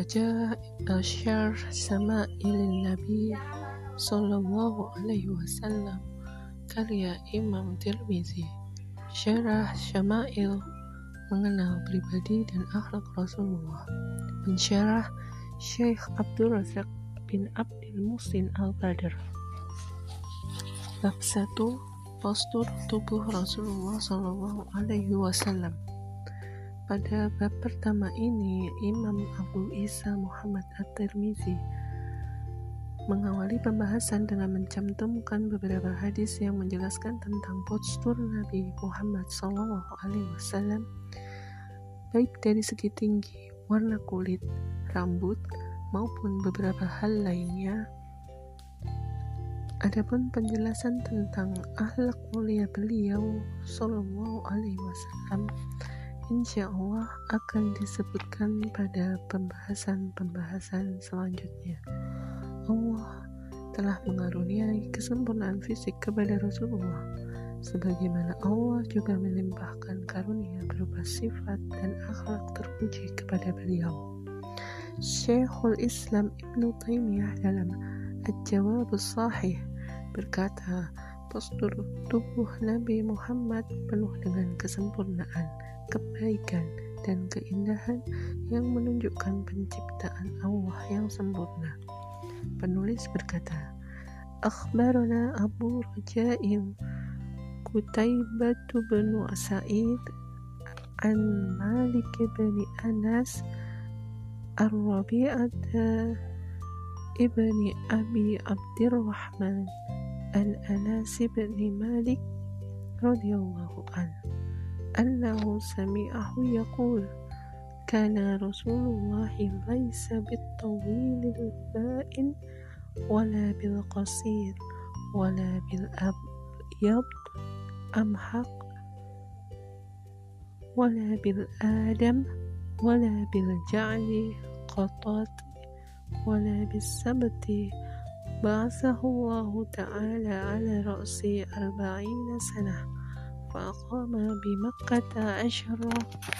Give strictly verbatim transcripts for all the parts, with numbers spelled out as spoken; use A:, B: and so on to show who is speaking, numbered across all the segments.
A: Raja Syar Sama'ilin Nabi Sallallahu Alaihi Wasallam, karya Imam Tirmizi. Syarah Syama'il, mengenal pribadi dan akhlak Rasulullah. Pensyarah Syekh Abdul Razak bin Abdul Muhsin Al-Badr. Bab satu. Postur tubuh Rasulullah Sallallahu Alaihi Wasallam. Pada bab pertama ini, Imam Abu Isa Muhammad At-Tirmizi mengawali pembahasan dengan mencantumkan beberapa hadis yang menjelaskan tentang postur Nabi Muhammad Sallallahu Alaihi Wasallam, baik dari segi tinggi, warna kulit, rambut, maupun beberapa hal lainnya. Adapun penjelasan tentang akhlak mulia beliau Sallallahu Alaihi Wasallam, insya Allah akan disebutkan pada pembahasan-pembahasan selanjutnya. Allah telah mengaruniai kesempurnaan fisik kepada Rasulullah, sebagaimana Allah juga melimpahkan karunia berupa sifat dan akhlak terpuji kepada beliau. Syekhul Islam Ibnu Taimiyah dalam Al-Jawabus Shahih berkata, postur tubuh Nabi Muhammad penuh dengan kesempurnaan, kebaikan, dan keindahan yang menunjukkan penciptaan Allah yang sempurna. Penulis berkata, Akhbarana Abu Raja'im Qutaibah bin Sa'id an Malik bin Anas Ar-Rabi'ah ibni Abi Abdirrahman an Anas bin Malik radhiyallahu anhu annahu sami'ahu yaqul kana Rasulullah laysa bit-tawil al-ba'in wala bil-qasir wala bil-abyad amhaq wala bil-adam wala bil-ja'li qatat wala bis-sabti ba'athahu Allah ta'ala ala ra'si arba'ina sanah faqama bi Makkah asyara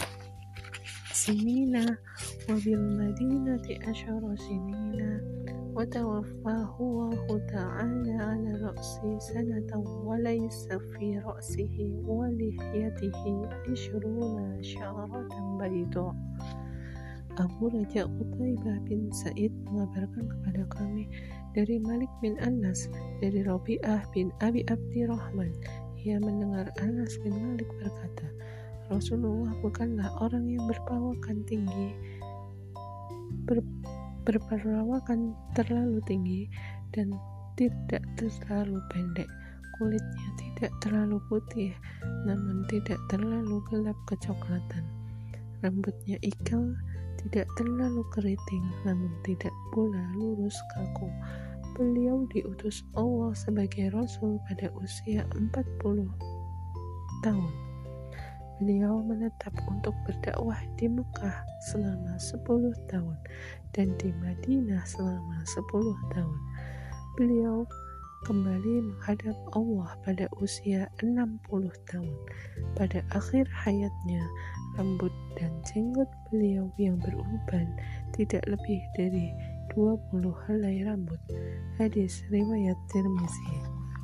A: sinina wa bil madinati asyara sinina wa tawaffahu Allah ta'ala ala ra'si sanatan wa laysa fi ra'sihi wa lihyatihi ishruna sya'ratan bayda. Abu Raja Qutaibah bin Sa'id mengabarkan kepada kami dari Malik bin Anas, dari Rabi'ah bin Abi Abdirrahman. Ia mendengar Anas bin Malik berkata, Rasulullah bukanlah orang yang berperawakan tinggi, ber, berperawakan terlalu tinggi dan tidak terlalu pendek. Kulitnya tidak terlalu putih, namun tidak terlalu gelap kecoklatan. Rambutnya ikal, tidak terlalu keriting, namun tidak pula lurus kaku. Beliau diutus Allah sebagai Rasul pada usia empat puluh tahun. Beliau menetap untuk berdakwah di Mekah selama sepuluh tahun dan di Madinah selama sepuluh tahun. Beliau kembali menghadap Allah pada usia enam puluh tahun. Pada akhir hayatnya, rambut dan jenggot beliau yang beruban tidak lebih dari dua puluh helai rambut. Hadis riwayat Tirmizi.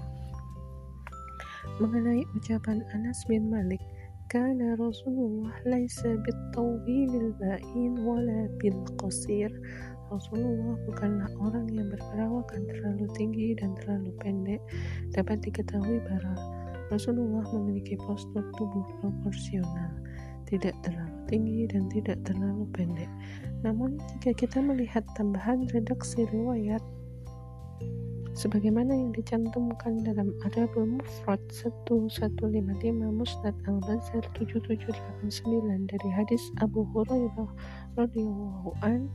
A: Mengenai ucapan Anas bin Malik, kana Rasulullah laisa bit-tawilil ba'in wala bil qasir. Rasulullah bukanlah orang yang berperawakan terlalu tinggi dan terlalu pendek. Dapat diketahui bahwa Rasulullah memiliki postur tubuh proporsional, tidak terlalu tinggi dan tidak terlalu pendek. Namun jika kita melihat tambahan redaksi riwayat sebagaimana yang dicantumkan dalam Adabul Mufrad seribu seratus lima puluh lima Musnad Al-Bazzar tujuh tujuh delapan sembilan dari hadis Abu Hurairah radhiyallahu an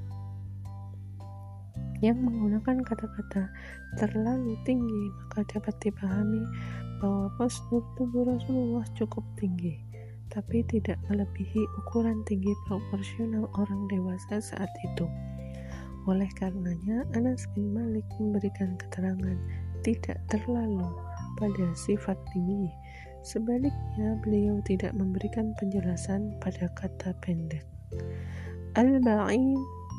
A: yang menggunakan kata-kata terlalu tinggi, maka dapat dipahami bahwa postur tubuh Rasulullah cukup tinggi, tapi tidak melebihi ukuran tinggi proporsional orang dewasa saat itu. Oleh karenanya, Anas bin Malik memberikan keterangan tidak terlalu pada sifat tinggi. Sebaliknya, beliau tidak memberikan penjelasan pada kata pendek. Al-Ba'in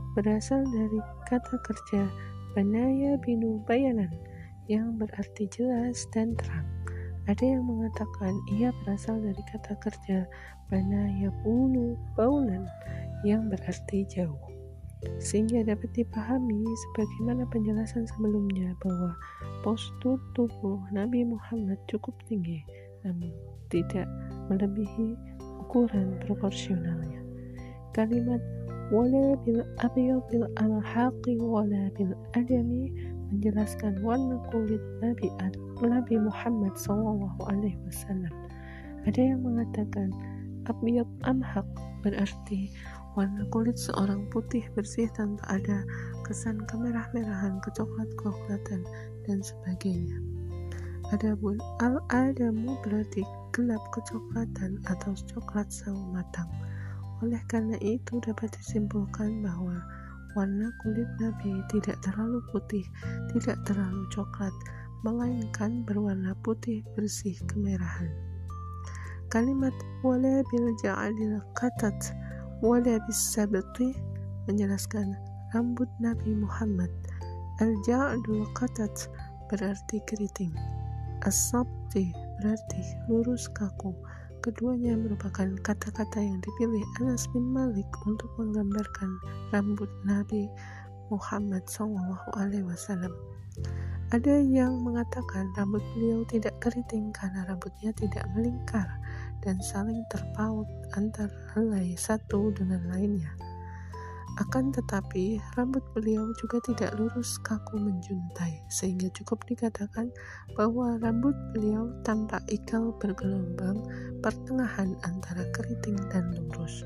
A: berasal dari kata kerja banaya binu bayanan yang berarti jelas dan terang. Ada yang mengatakan ia berasal dari kata kerja banaya bunu baunan yang berarti jauh, sehingga dapat dipahami sebagaimana penjelasan sebelumnya bahwa postur tubuh Nabi Muhammad cukup tinggi namun tidak melebihi ukuran proporsionalnya. Kalimat wala bil abyadil alhaqi wala bil adami menjelaskan warna kulit Nabi Nabi Muhammad sallallahu alaihi wasallam. Ada yang mengatakan abyad amhaq berarti warna kulit seorang putih bersih tanpa ada kesan kemerah-merahan, kecoklat-coklatan dan sebagainya. Adapun al-adamu berarti gelap kecoklatan atau coklat sawo matang. Oleh karena itu dapat disimpulkan bahwa warna kulit Nabi tidak terlalu putih, tidak terlalu coklat, melainkan berwarna putih bersih kemerahan. Kalimat wala bil ja'alil qatat wala bis sabti menjelaskan rambut Nabi Muhammad. Al-ja'dul qatat berarti keriting, as-sabti berarti lurus kaku. Keduanya merupakan kata-kata yang dipilih Anas bin Malik untuk menggambarkan rambut Nabi Muhammad sallallahu alaihi wasallam. Ada yang mengatakan rambut beliau tidak keriting karena rambutnya tidak melingkar dan saling terpaut antara helai satu dengan lainnya. Akan tetapi rambut beliau juga tidak lurus kaku menjuntai, sehingga cukup dikatakan bahwa rambut beliau tampak ikal bergelombang pertengahan antara keriting dan lurus.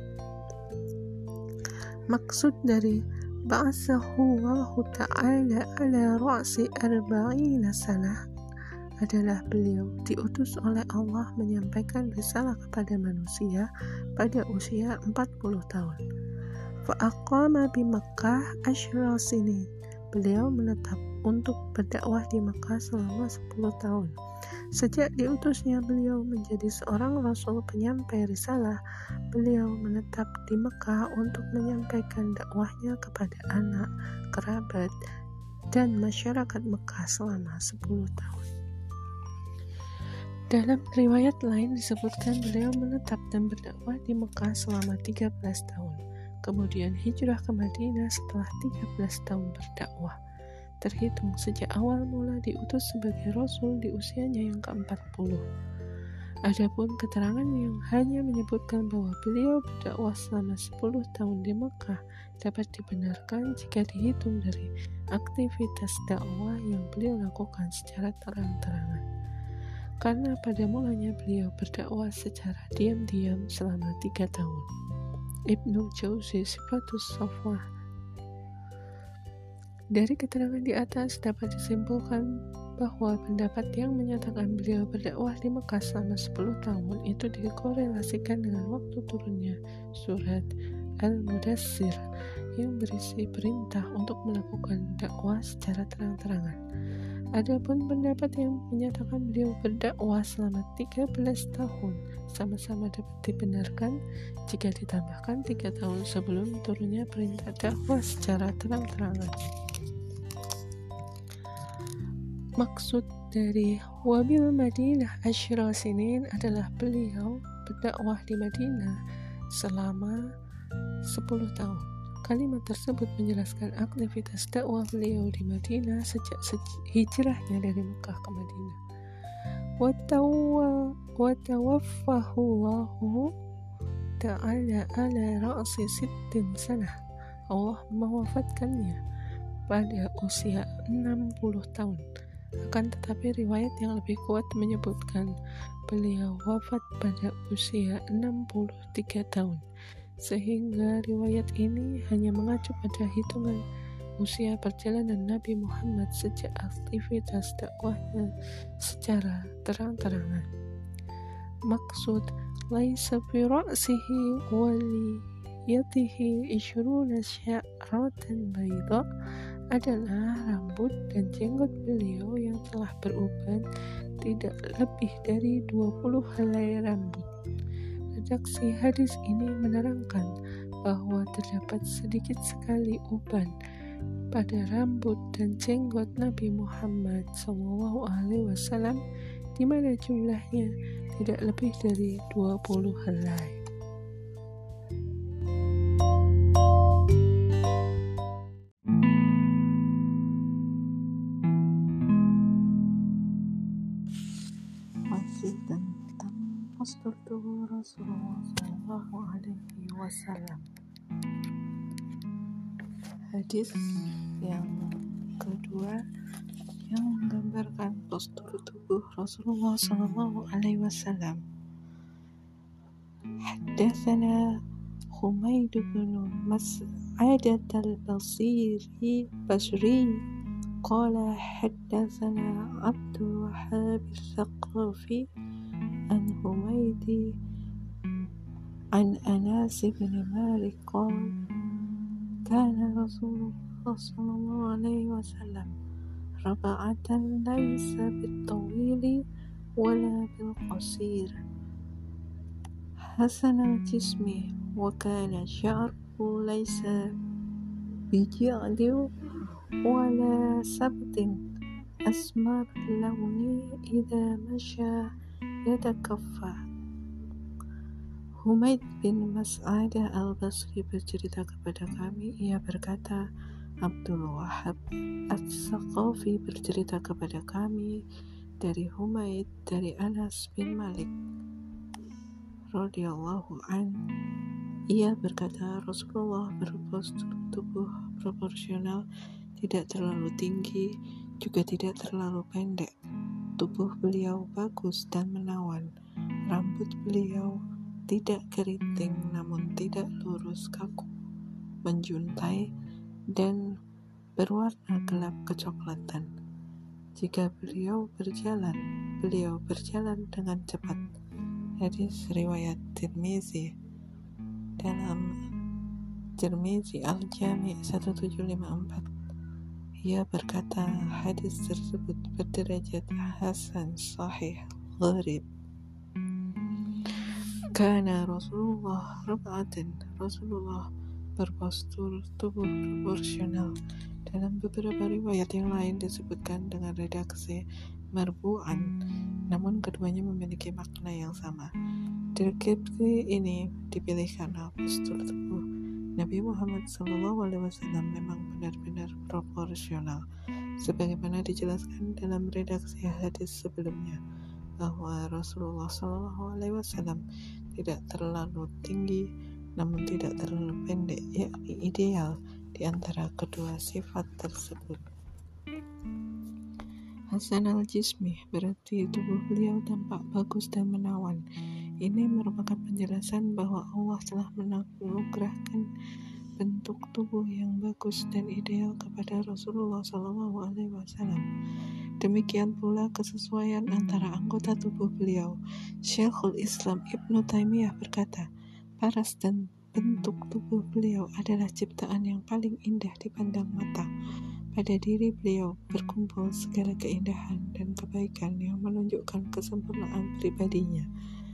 A: Maksud dari ba'atsahu Allahu ta'ala ala ra'si arba'ina sanah adalah beliau diutus oleh Allah menyampaikan risalah kepada manusia pada usia empat puluh tahun. Fa'aqama bi Makkah asyra sinin. Beliau menetap untuk berdakwah di Makkah selama sepuluh tahun. Sejak diutusnya beliau menjadi seorang rasul penyampai risalah, beliau menetap di Makkah untuk menyampaikan dakwahnya kepada anak, kerabat, dan masyarakat Makkah selama sepuluh tahun. Dalam riwayat lain disebutkan beliau menetap dan berdakwah di Makkah selama tiga belas tahun. Kemudian hijrah ke Madinah setelah tiga belas tahun berdakwah, terhitung sejak awal mula diutus sebagai Rasul di usianya yang keempat puluh. Adapun keterangan yang hanya menyebutkan bahwa beliau berdakwah selama sepuluh tahun di Makkah dapat dibenarkan jika dihitung dari aktivitas dakwah yang beliau lakukan secara terang-terangan. Karena pada mulanya beliau berdakwah secara diam-diam selama tiga tahun. Ibnu Jauzi Sifatus Safwah. Dari keterangan di atas dapat disimpulkan bahwa pendapat yang menyatakan beliau berdakwah di Mekah selama sepuluh tahun itu dikorelasikan dengan waktu turunnya surat Al-Mudassir yang berisi perintah untuk melakukan dakwah secara terang-terangan. Adapun pendapat yang menyatakan beliau berdakwah selama tiga belas tahun sama-sama dapat dibenarkan jika ditambahkan tiga tahun sebelum turunnya perintah dakwah secara terang-terangan. Maksud dari wabil Madinah asyra sinin adalah beliau berdakwah di Madinah selama sepuluh tahun. Kalimat tersebut menjelaskan aktivitas dakwah beliau di Madinah sejak hijrahnya dari Mekah ke Madinah. Watawaffahu Allahu ta'ala ala ra'si sittin sanah. Allah mewafatkannya pada usia enam puluh tahun. Akan tetapi riwayat yang lebih kuat menyebutkan beliau wafat pada usia enam puluh tiga tahun. Sehingga riwayat ini hanya mengacu pada hitungan usia perjalanan Nabi Muhammad sejak aktivitas dakwahnya secara terang-terangan. Maksud laisa fi ra'sihi wa liyatihi ishruna sya'ratan bayda adalah rambut dan jenggot beliau yang telah beruban tidak lebih dari dua puluh helai rambut. Redaksi hadis ini menerangkan bahwa terdapat sedikit sekali uban pada rambut dan jenggot Nabi Muhammad shallallahu alaihi wasallam, di mana jumlahnya tidak lebih dari dua puluh helai. Masih tentang postur tubuh Rasulullah shallallahu alaihi wasallam. Hadis yang kedua yang menggambarkan postur tubuh Rasulullah shallallahu alaihi wasallam. Haddatsana Humaid bin Mas'adah al-Basri Basri qala haddatsana Abdul Wahhab al-Thaqafi an Humaid an Anas bin Malik qala kana Rasulullah sallallahu alaihi wasallam raba'atan laysa bil-tawili wala bil-qasir hasan al-jismi wa kana sya'ruhu laysa bija'di wala sabtin asmar launi idza masya yatakaffa. Humaid bin Mas'adah al-Basri bercerita kepada kami, ia berkata, Abdul Wahhab As-Saqafi bercerita kepada kami dari Humaid dari Anas bin Malik radhiyallahu an. Ia berkata, Rasulullah berpostur tubuh proporsional, tidak terlalu tinggi, juga tidak terlalu pendek. Tubuh beliau bagus dan menawan. Rambut beliau tidak keriting namun tidak lurus kaku, menjuntai dan berwarna gelap kecoklatan. Jika beliau berjalan, beliau berjalan dengan cepat. Hadis riwayat Tirmizi. Dalam Tirmizi Al-Jami' tujuh belas lima puluh empat, ia berkata, hadis tersebut berderajat hasan sahih gharib. Kana Rasulullah rab'atan, Rasulullah berpostur tubuh proporsional. Dalam beberapa riwayat yang lain disebutkan dengan redaksi marbu'an, namun keduanya memiliki makna yang sama. Deskripsi ini dipilih karena postur tubuh Nabi Muhammad shallallahu alaihi wasallam memang benar-benar proporsional, sebagaimana dijelaskan dalam redaksi hadis sebelumnya, bahwa Rasulullah shallallahu alaihi wasallam tidak terlalu tinggi namun tidak terlalu pendek, yakni ideal di antara kedua sifat tersebut. Hasan al-Jismi berarti tubuh beliau tampak bagus dan menawan. Ini merupakan penjelasan bahwa Allah telah menganugerahkan bentuk tubuh yang bagus dan ideal kepada Rasulullah shallallahu alaihi wasallam. Demikian pula kesesuaian antara anggota tubuh beliau. Syekhul Islam Ibnu Taimiyah berkata, paras dan bentuk tubuh beliau adalah ciptaan yang paling indah dipandang mata. Pada diri beliau berkumpul segala keindahan dan kebaikan yang menunjukkan kesempurnaan pribadinya.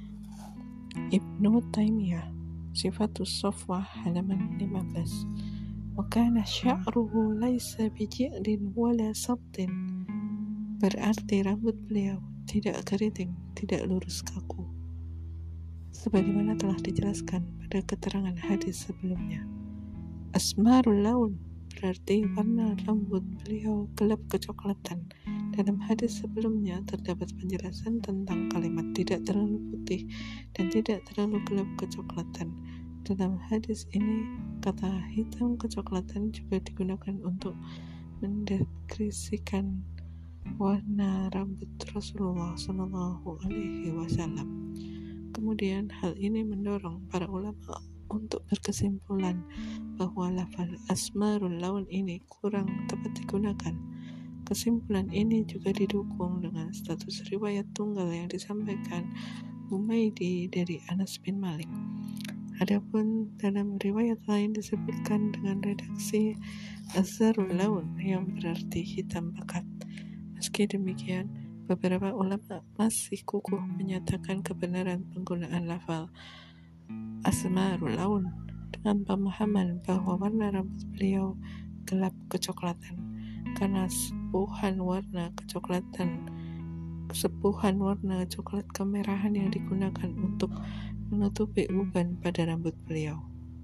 A: Ibnu Taimiyah, Sifatus Safwah halaman lima belas. Wa kana sya'ruhu laisa biji'din wala sabtin. Berarti rambut beliau tidak keriting, tidak lurus kaku, sebagaimana telah dijelaskan pada keterangan hadis sebelumnya. Asmarul laun berarti warna rambut beliau gelap kecoklatan. Dalam hadis sebelumnya terdapat penjelasan tentang kalimat tidak terlalu putih dan tidak terlalu gelap kecoklatan. Dalam hadis ini, kata hitam kecoklatan juga digunakan untuk mendeskripsikan warna rambut Rasulullah shallallahu alaihi wasallam. Kemudian hal ini mendorong para ulama untuk berkesimpulan bahwa lafaz asmarul laun ini kurang tepat digunakan. Kesimpulan ini juga didukung dengan status riwayat tunggal yang disampaikan Humaidi dari Anas bin Malik. Adapun dalam riwayat lain disebutkan dengan redaksi azharul laun yang berarti hitam pekat. Meski demikian, beberapa ulama masih kukuh menyatakan kebenaran penggunaan lafal asmarul laun dengan pemahaman bahwa warna rambut beliau gelap kecoklatan karena sepuhan warna kecoklatan sepuhan warna coklat kemerahan yang digunakan untuk menutupi uban pada rambut beliau.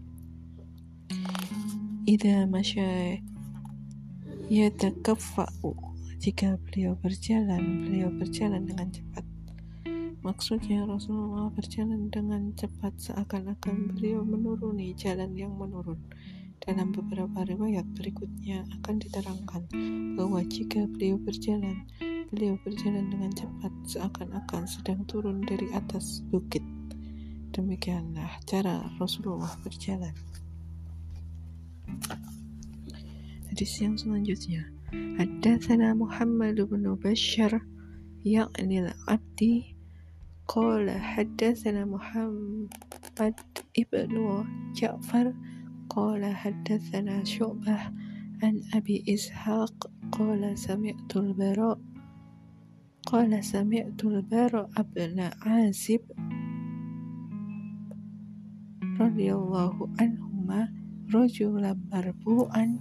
A: Idza masya yatakaffa'u, jika beliau berjalan, beliau berjalan dengan cepat. Maksudnya Rasulullah berjalan dengan cepat seakan-akan beliau menuruni jalan yang menurun. Dalam beberapa riwayat berikutnya akan diterangkan bahwa jika beliau berjalan, beliau berjalan dengan cepat seakan-akan sedang turun dari atas bukit. Demikianlah cara Rasulullah berjalan. Hadis yang selanjutnya, Haddatsana Muhammad bin Bashar ya'ni al-Abdi qala haddatsana Muhammad ibnu Ja'far qala haddatsana Syu'bah an Abi Ishaq qala sami'tu al-Bara qala sami'tu al-Bara ibn Azib radhiyallahu anhuma rajulan marbu'an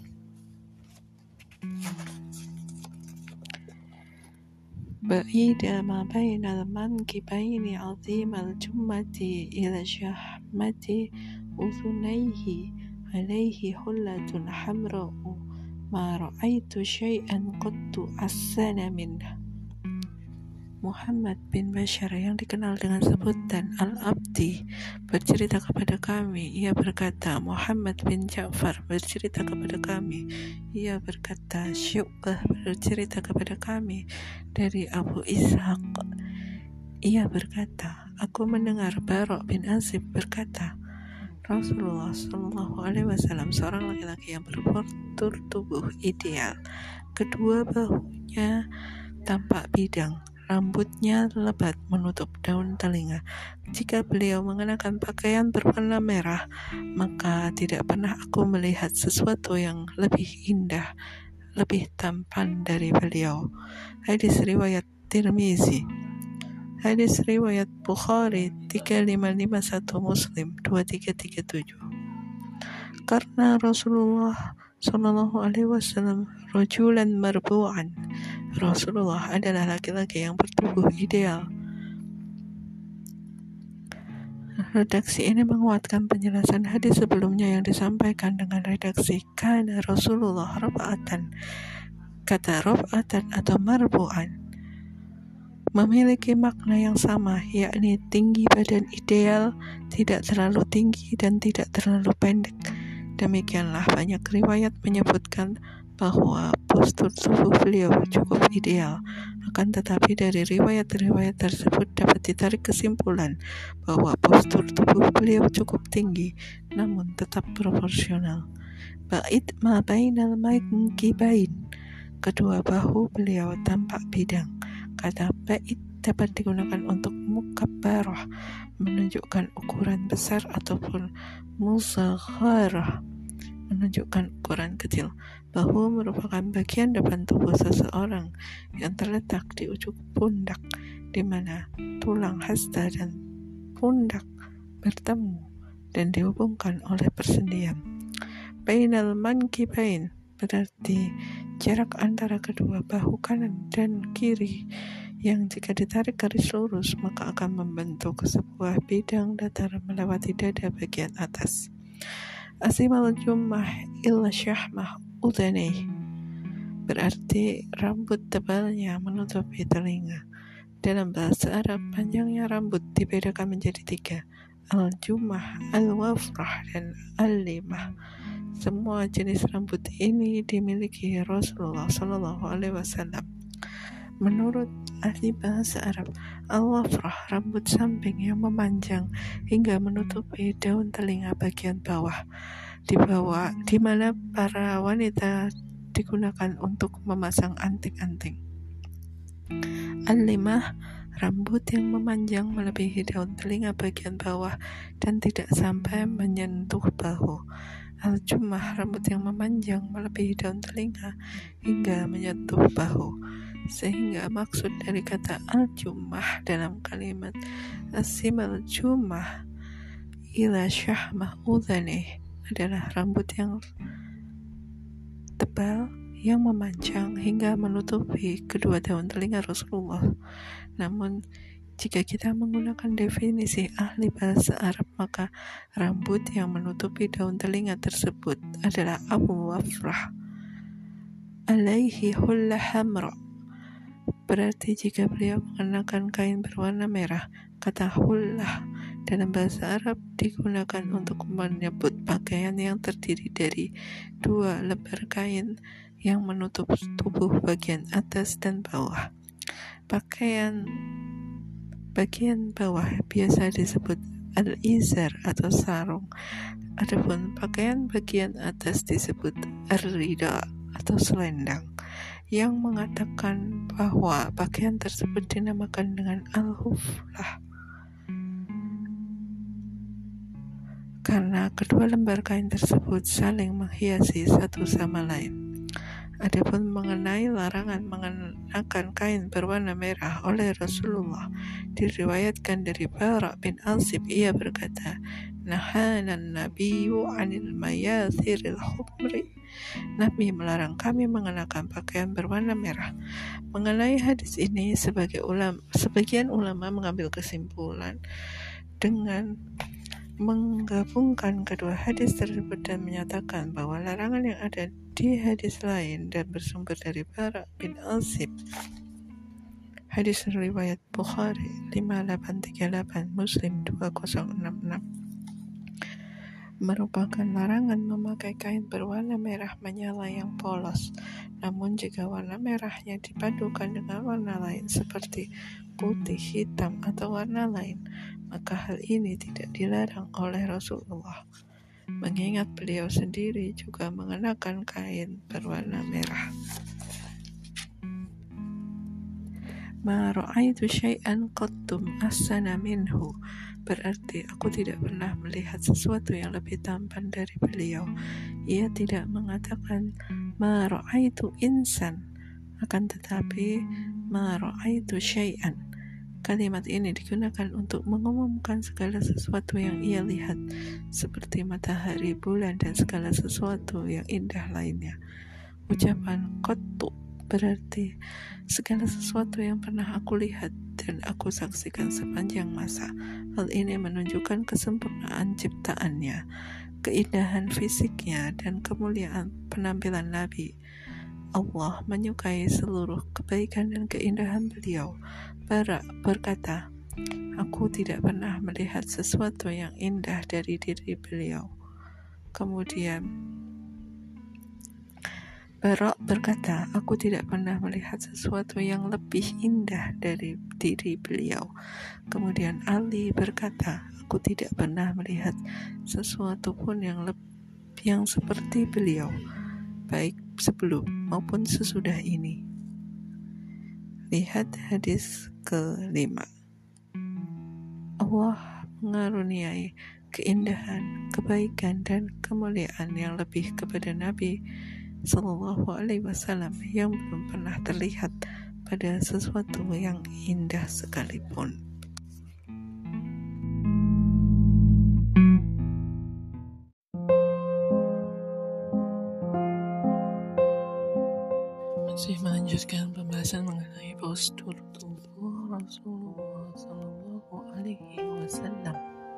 A: ba'ida ma baina al-mankibaini 'azima al-jummati ila shahmati udhunayhi 'alayhi hullatun hamra'u ma ra'aitu syai'an qattu ahsana minhu. Muhammad bin Bashar yang dikenal dengan sebutan Al-Abdi bercerita kepada kami, ia berkata, Muhammad bin Ja'far bercerita kepada kami, ia berkata, Syu'bah bercerita kepada kami dari Abu Ishaq, ia berkata, aku mendengar Bara bin Azib berkata, Rasulullah Shallallahu Alaihi Wasallam seorang laki-laki yang berpostur tubuh ideal, kedua bahunya tampak bidang, rambutnya lebat menutup daun telinga. Jika beliau mengenakan pakaian berwarna merah, maka tidak pernah aku melihat sesuatu yang lebih indah, lebih tampan dari beliau. Hadis riwayat Tirmizi. Hadis riwayat Bukhari tiga lima lima satu, Muslim dua tiga tiga tujuh. Karena Rasulullah Sallallahu Alaihi Wasallam rajulan marbu'an, Rasulullah adalah laki-laki yang bertubuh ideal. Redaksi ini menguatkan penjelasan hadis sebelumnya yang disampaikan dengan redaksi kana Rasulullah rafa'atan. Kata rafa'atan atau marbu'an memiliki makna yang sama, yakni tinggi badan ideal, tidak terlalu tinggi dan tidak terlalu pendek. Demikianlah banyak riwayat menyebutkan bahwa postur tubuh beliau cukup ideal. Akan tetapi dari riwayat-riwayat tersebut dapat ditarik kesimpulan bahwa postur tubuh beliau cukup tinggi, namun tetap proporsional. Ba'id ma bainal mankibain, kedua bahu beliau tampak bidang. Kata ba'id dapat digunakan untuk mukabbarah, menunjukkan ukuran besar, ataupun musagharah, menunjukkan ukuran kecil. Bahu merupakan bagian depan tubuh seseorang yang terletak di ujung pundak, di mana tulang hasta dan pundak bertemu dan dihubungkan oleh persendian. Bainal mankibain berarti jarak antara kedua bahu kanan dan kiri yang jika ditarik garis lurus maka akan membentuk sebuah bidang datar melewati dada bagian atas. Asimal jummah illa syahmah udhanaih berarti rambut tebalnya menutupi telinga. Dalam bahasa Arab, panjangnya rambut dibedakan menjadi tiga, al-jummah, al-wafrah, dan al-limah. Semua jenis rambut ini dimiliki Rasulullah Shallallahu Alaihi Wasallam. Menurut ahli bahasa Arab, al-wafrah rambut samping yang memanjang hingga menutupi daun telinga bagian bawah, di bawah, di mana para wanita digunakan untuk memasang anting-anting. Al-limah, rambut yang memanjang melebihi daun telinga bagian bawah dan tidak sampai menyentuh bahu. Al-jummah, rambut yang memanjang melebihi daun telinga hingga menyentuh bahu. Sehingga maksud dari kata al-jummah dalam kalimat asimal jummah ila syahmah udhanih adalah rambut yang tebal yang memanjang hingga menutupi kedua daun telinga Rasulullah. Namun jika kita menggunakan definisi ahli bahasa Arab, maka rambut yang menutupi daun telinga tersebut adalah Abu Wafrah alaihi hulla hamra. Berarti jika beliau mengenakan kain berwarna merah, kata hullah dalam bahasa Arab digunakan untuk menyebut pakaian yang terdiri dari dua lembar kain yang menutup tubuh bagian atas dan bawah. Pakaian bagian bawah biasa disebut al-izar atau sarung. Adapun pakaian bagian atas disebut ar-rida atau selendang, yang mengatakan bahwa pakaian tersebut dinamakan dengan al-huflah karena kedua lembar kain tersebut saling menghiasi satu sama lain. Adapun mengenai larangan mengenakan kain berwarna merah oleh Rasulullah, diriwayatkan dari Bara bin Azib, ia berkata, Nahanan nabiyyu anil mayathiril khumri. Nabi melarang kami mengenakan pakaian berwarna merah. Mengenai hadis ini, sebagai ulama, sebagian ulama mengambil kesimpulan dengan menggabungkan kedua hadis tersebut dan menyatakan bahwa larangan yang ada di hadis lain dan bersumber dari Bara bin Azib, hadis riwayat Bukhari lima delapan tiga delapan, Muslim dua nol enam enam, merupakan larangan memakai kain berwarna merah menyala yang polos. Namun jika warna merahnya dipadukan dengan warna lain seperti putih, hitam, atau warna lain, maka hal ini tidak dilarang oleh Rasulullah, mengingat beliau sendiri juga mengenakan kain berwarna merah. Ma ra'aitu syai'an qattum ahsana minhu, berarti aku tidak pernah melihat sesuatu yang lebih tampan dari beliau. Ia tidak mengatakan ma ra'aitu insan, akan tetapi ma ra'aitu syai'an. Kalimat ini digunakan untuk mengumumkan segala sesuatu yang ia lihat, seperti matahari, bulan, dan segala sesuatu yang indah lainnya. Ucapan qattu berarti segala sesuatu yang pernah aku lihat dan aku saksikan sepanjang masa. Hal ini menunjukkan kesempurnaan ciptaannya, keindahan fisiknya, dan kemuliaan penampilan Nabi. Allah menyukai seluruh kebaikan dan keindahan beliau. Bara berkata, aku tidak pernah melihat sesuatu yang indah dari diri beliau. Kemudian Bara berkata, aku tidak pernah melihat sesuatu yang lebih indah dari diri beliau. Kemudian Ali berkata, aku tidak pernah melihat sesuatu pun yang lebih yang seperti beliau, baik sebelum maupun sesudah ini. Lihat hadis kelima. Allah mengaruniai keindahan, kebaikan, dan kemuliaan yang lebih kepada Nabi Sallallahu Alaihi Wasallam yang belum pernah terlihat pada sesuatu yang indah sekalipun. Masih melanjutkan pembahasan mengenai postur tubuh Rasulullah Sallallahu Alaihi Wasallam.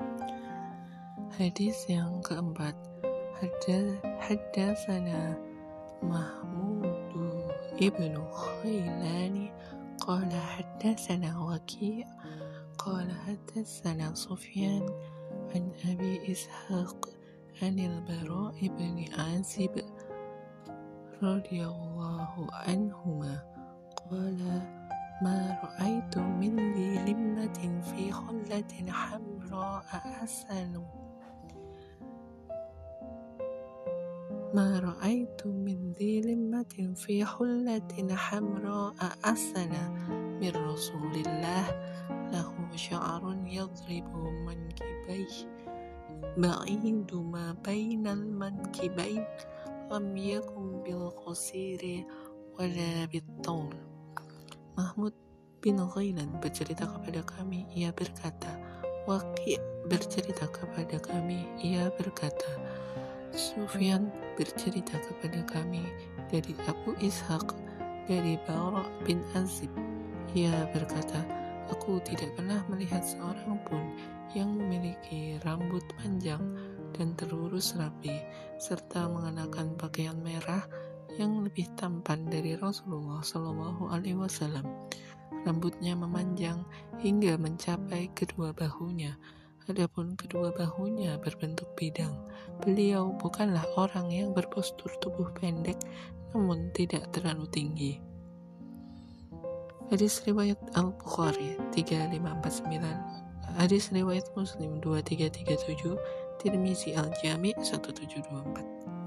A: Hadis yang keempat, Haddatsana Mahmud ibn Khailani qala haddatsana Waki' qala haddatsana Sufyan an Abi Ishaq anil Bara ibn Azib radhiyallahu anhuma qala ma ra'aitu min li limmatin fi khullatin hamra ahsanu ma ra'aitu min li limmatin fi khullatin hamra ahsana min Rasulillah lahu sya'run yadribu mankibayhi ba'idu ma bainal mankibain lam yakun bil qasiri wala bit taul. Mahmud bin Ghailan bercerita kepada kami, ia berkata, Waqi' bercerita kepada kami, ia berkata, Sufyan bercerita kepada kami dari Abu Ishaq, dari Bara' bin Azib, ia berkata, aku tidak pernah melihat seorang pun yang memiliki rambut panjang dan terurus rapi, serta mengenakan pakaian merah yang lebih tampan dari Rasulullah Shallallahu Alaihi Wasallam. Rambutnya memanjang hingga mencapai kedua bahunya. Adapun kedua bahunya berbentuk bidang. Beliau bukanlah orang yang berpostur tubuh pendek, namun tidak terlalu tinggi. Hadis riwayat Al-Bukhari tiga lima empat sembilan, hadis riwayat Muslim dua tiga tiga tujuh, Tirmizi Al-Jami' satu tujuh dua empat.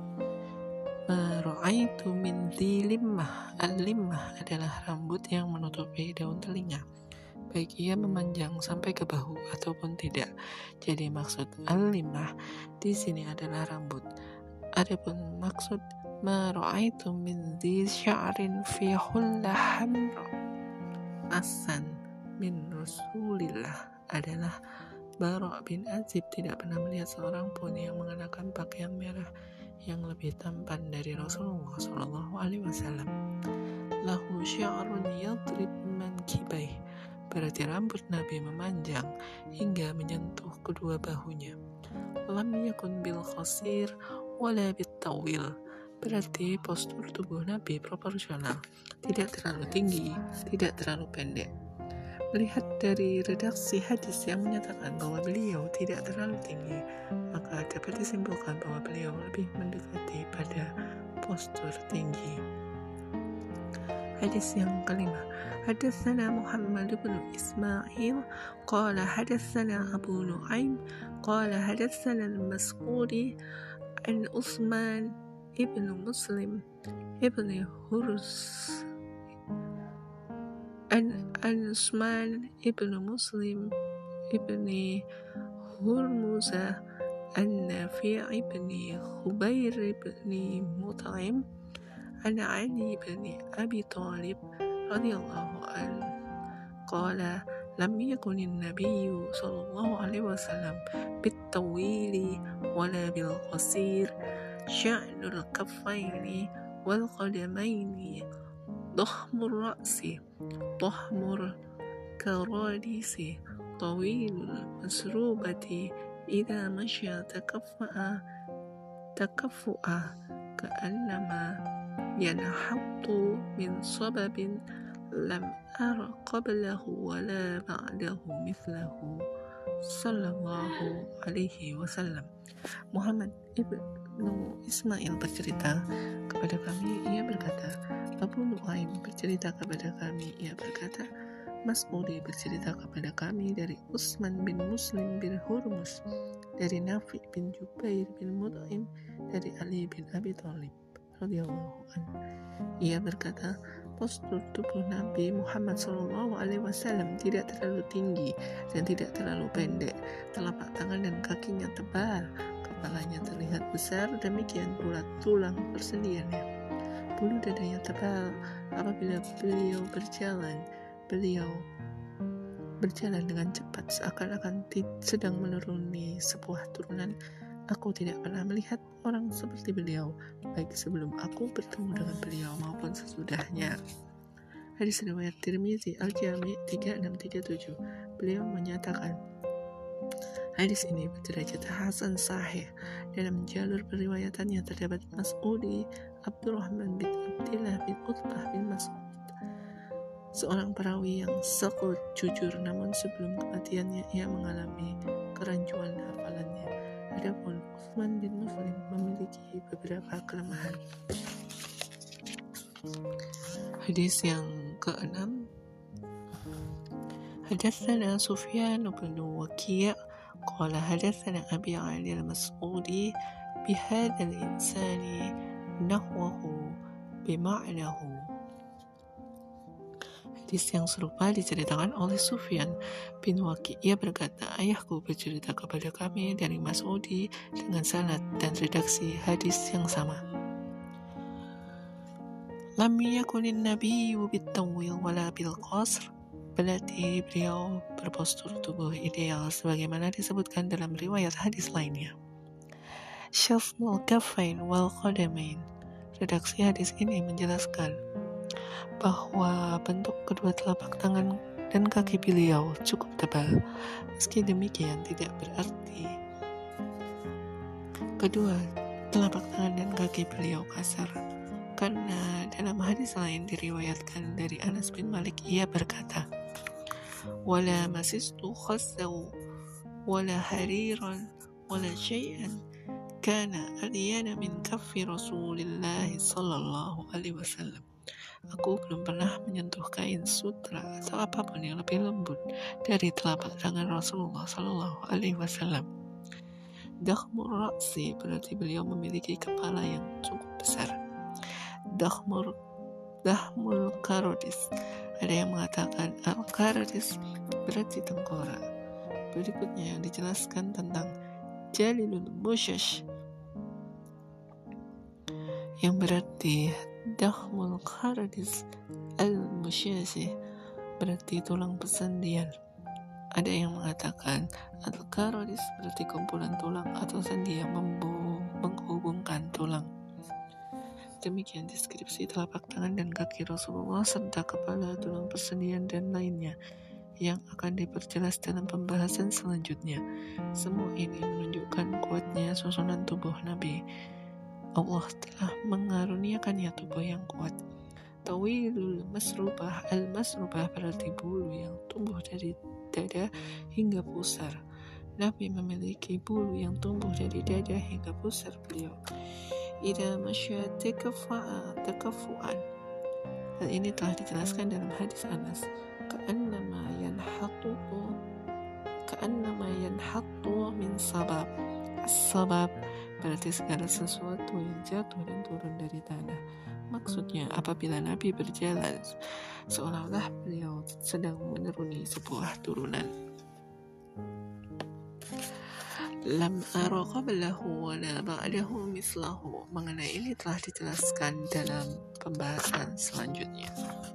A: Ra'aitu min dhi limmah. Al-limmah adalah rambut yang menutupi daun telinga, baik ia memanjang sampai ke bahu ataupun tidak. Jadi maksud al-limmah di sini adalah rambut. Adapun maksud ma ra'aitu min dhi sya'rin fi hullah hamra asan min Rasulillah adalah Bara' bin Azib tidak pernah melihat seorang pun yang mengenakan pakaian merah yang lebih tampan dari Rasulullah Shallallahu Alaihi Wasallam. Lahu sya'run yadrib mankibaih, berarti rambut Nabi memanjang hingga menyentuh kedua bahunya. Lam yakun bil qasir wala bit tawil, berarti postur tubuh Nabi proporsional, tidak terlalu tinggi, tidak terlalu pendek. Melihat dari redaksi hadis yang menyatakan bahwa beliau tidak terlalu tinggi, maka dapat disimpulkan bahwa beliau lebih mendekati pada postur tinggi. Hadis yang kelima, hadatsana Muhammad bin Ismail qala hadatsana Abu Nu'aim qala hadatsana al-Mas'udi an Utsman ibn Muslim ibn Hurus an Utsman ibn Muslim ibn Hurmuza an Nafi' ibn Khubayr ibn Mut'im an Ali ibn Abi Thalib radhiyallahu anhu qala lam yakun an-nabiy sallallahu alaihi wasallam bit-tawili wala bil-qasir sya'nul kaffaini wal qadamaini ضخم الرأس ضخم الكراديس طويل المسروبة إذا مشى تكفأ تكفؤا كأنما ينحط من صبب لم أر قبله ولا بعده مثله صلى الله عليه wasallam. Muhammad ibnu Ismail bercerita kepada kami, ia berkata, Abu Nu'aim bercerita kepada kami, ia berkata, Mas'udi bercerita kepada kami dari Utsman bin Muslim bin Hurmus, dari Nafi' bin Jubair bin Mut'im, dari Ali bin Abi Thalib radhiyallahu anhu. Ia berkata, postur tubuh Nabi Muhammad shallallahu alaihi wasallam tidak terlalu tinggi dan tidak terlalu pendek. Telapak tangan dan kakinya tebal, kepalanya terlihat besar, demikian pula tulang persendiannya. Bulu dadanya tebal. Apabila beliau berjalan, beliau berjalan dengan cepat seakan-akan sedang menuruni sebuah turunan. Aku tidak pernah melihat orang seperti beliau, baik sebelum aku bertemu dengan beliau maupun sesudahnya. Hadis riwayat Tirmizi Al-Jami' tiga enam tiga tujuh. Beliau menyatakan, hadis ini berderajat hasan sahih. Dalam jalur periwayatannya terdapat Mas'udi Abdurrahman bin Abdillah bin Utbah bin Mas'ud, seorang perawi yang sekut jujur, namun sebelum kematiannya ia mengalami kerancuan hafalannya. Adapun Utsman bin Muslim memiliki beberapa kelemahan. Hadis yang keenam, hadatsana Sufyan bin Waki' qala hadatsana Abi Ali al-Mas'udi bihadzal insani nahwahu bima'nahu. Hadis yang serupa diceritakan oleh Sufyan bin Waki'. Ia berkata, ayahku bercerita kepada kami dari Mas'udi dengan sanad dan redaksi hadis yang sama. Lam yakunin nabiyyu bit-tawil wala bil-qasr berarti beliau berpostur tubuh ideal sebagaimana disebutkan dalam riwayat hadis lainnya. Syafnul kaffain wal qadamain. Redaksi hadis ini menjelaskan bahwa bentuk kedua telapak tangan dan kaki beliau cukup tebal. Meski demikian tidak berarti kedua telapak tangan dan kaki beliau kasar. Karena dalam hadis lain diriwayatkan dari Anas bin Malik, ia berkata, "Wala masistu khassaw wala hariran wala syai'an kana alyana min kaffi Rasulillah sallallahu alaihi wasallam." Aku belum pernah menyentuh kain sutra atau apapun yang lebih lembut dari telapak tangan Rasulullah sallallahu alaihi wasallam. Dakhmur ra'si berarti beliau memiliki kepala yang cukup besar. Dakhmur Dahmul karodis, ada yang mengatakan al-karodis berarti tengkorak. Berikutnya yang dijelaskan tentang jalilul musyash, yang berarti dahmul karodis al-musyashi, berarti tulang pesendian. Ada yang mengatakan al-karodis berarti kumpulan tulang atau sendi yang menghubungkan tulang. Demikian deskripsi telapak tangan dan kaki Rasulullah serta kepala, tulang persendian, dan lainnya yang akan diperjelas dalam pembahasan selanjutnya. Semua ini menunjukkan kuatnya susunan tubuh Nabi. Allah telah mengaruniakannya tubuh yang kuat. Tawilul masrubah, al-masrubah berarti bulu yang tumbuh dari dada hingga pusar. Nabi memiliki bulu yang tumbuh dari dada hingga pusar beliau. Ida masya tekafa'a tekafu'an. Hal ini telah dijelaskan dalam hadis Anas. Ka'annama yanhatu Ka'annama yanhatu min sabab. As-sabab berarti segala sesuatu yang jatuh dan turun dari tanah. Maksudnya apabila Nabi berjalan seolah-olah beliau sedang menuruni sebuah turunan. Lam ara qablahu wa la ba'dahu mislahu. Mengenai ini telah dijelaskan dalam pembahasan selanjutnya.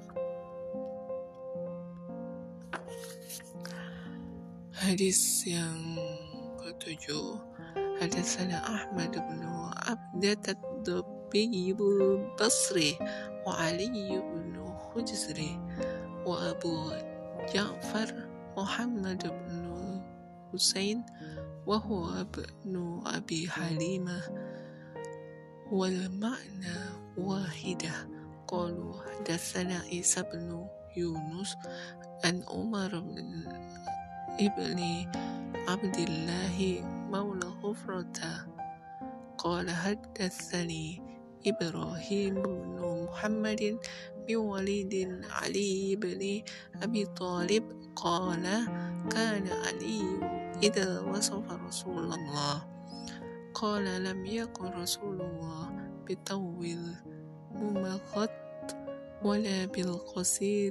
A: Hadis yang ketujuh, hadatsana Ahmad bin Abdat ad-Dabbi Basri wa Ali bin Hujri wa Abu Ja'far Muhammad bin Husain وهو ابن أبي حليمة والمعنى واحدة. قالوا حدثنا عيسى بن يونس عن عمر بن ابن عبد الله مولى غفرة قال حدثني إبراهيم بن محمد بن وليد علي بن أبي طالب قال كان علي إذا وصف رسول الله قال لم يكن رسول الله بطول ممغط ولا بالقصير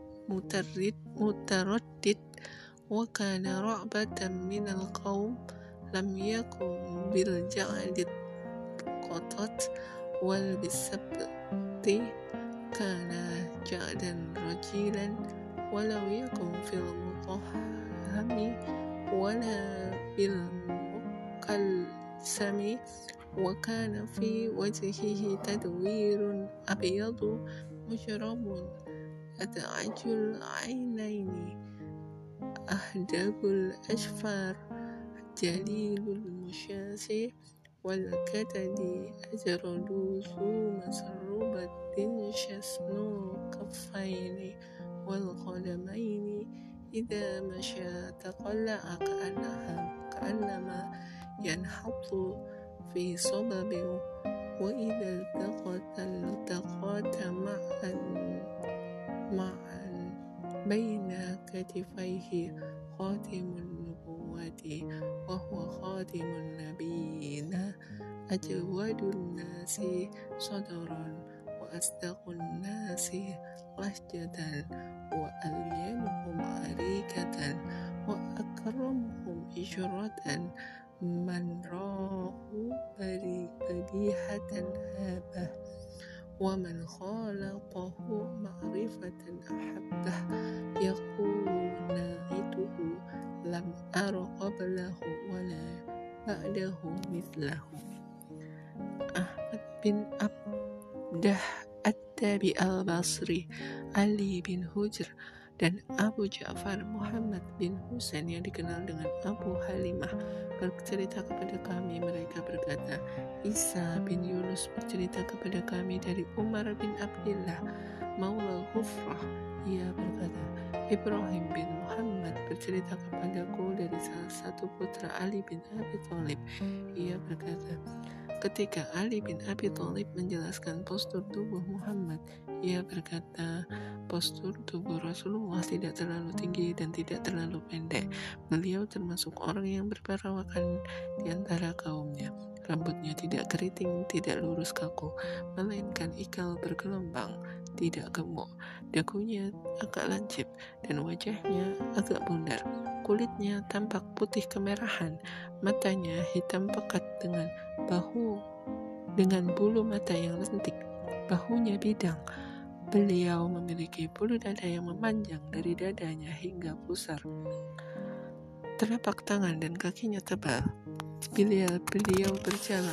A: المتردد وكان رعبة من القوم لم يكن بالجعد القطط والبالسبت كان جعدا رجيلا ولو يكن في المطهم ولا بالمقلسم وكان في وجهه تدوير أبيض مشرب أدعج العينين أهدب الأشفار جليل المشاة والكتد أجرد ذو مسربة شسن كفين والقدمين إذا مشى تقلع كأنها كأنما ينحط في صبب وإذا التقط التقاط معا معا بين كتفيه خاتم النبوة وهو خاتم النبيين أجود الناس صدرا وأصدق الناس لهجة وألينهم عريكة وأكرمهم إشرة من راه بديهة هابة ومن خالطه معرفة أحبه يقول ناعته لم أر قبله ولا بعده مثله. Ahmad bin Abdah Ad-Dabi al-Basri, Ali bin Hujr, dan Abu Ja'far Muhammad bin Husain yang dikenal dengan Abu Halimah bercerita kepada kami. Mereka berkata, Isa bin Yunus bercerita kepada kami dari Umar bin Abdillah Maula Ghufrah. Ia berkata, Ibrahim bin Muhammad bercerita kepadaku dari salah satu putra Ali bin Abi Thalib. Ia berkata, ketika Ali bin Abi Thalib menjelaskan postur tubuh Muhammad, ia berkata, postur tubuh Rasulullah tidak terlalu tinggi dan tidak terlalu pendek. Beliau termasuk orang yang berperawakan di antara kaumnya. Rambutnya tidak keriting, tidak lurus kaku, melainkan ikal bergelombang, tidak gemuk. Dagunya agak lancip dan wajahnya agak bundar. Kulitnya tampak putih kemerahan, matanya hitam pekat dengan bahu dengan bulu mata yang lentik, bahunya bidang. Beliau memiliki bulu dada yang memanjang dari dadanya hingga pusar. Telapak tangan dan kakinya tebal. Beliau, beliau berjalan.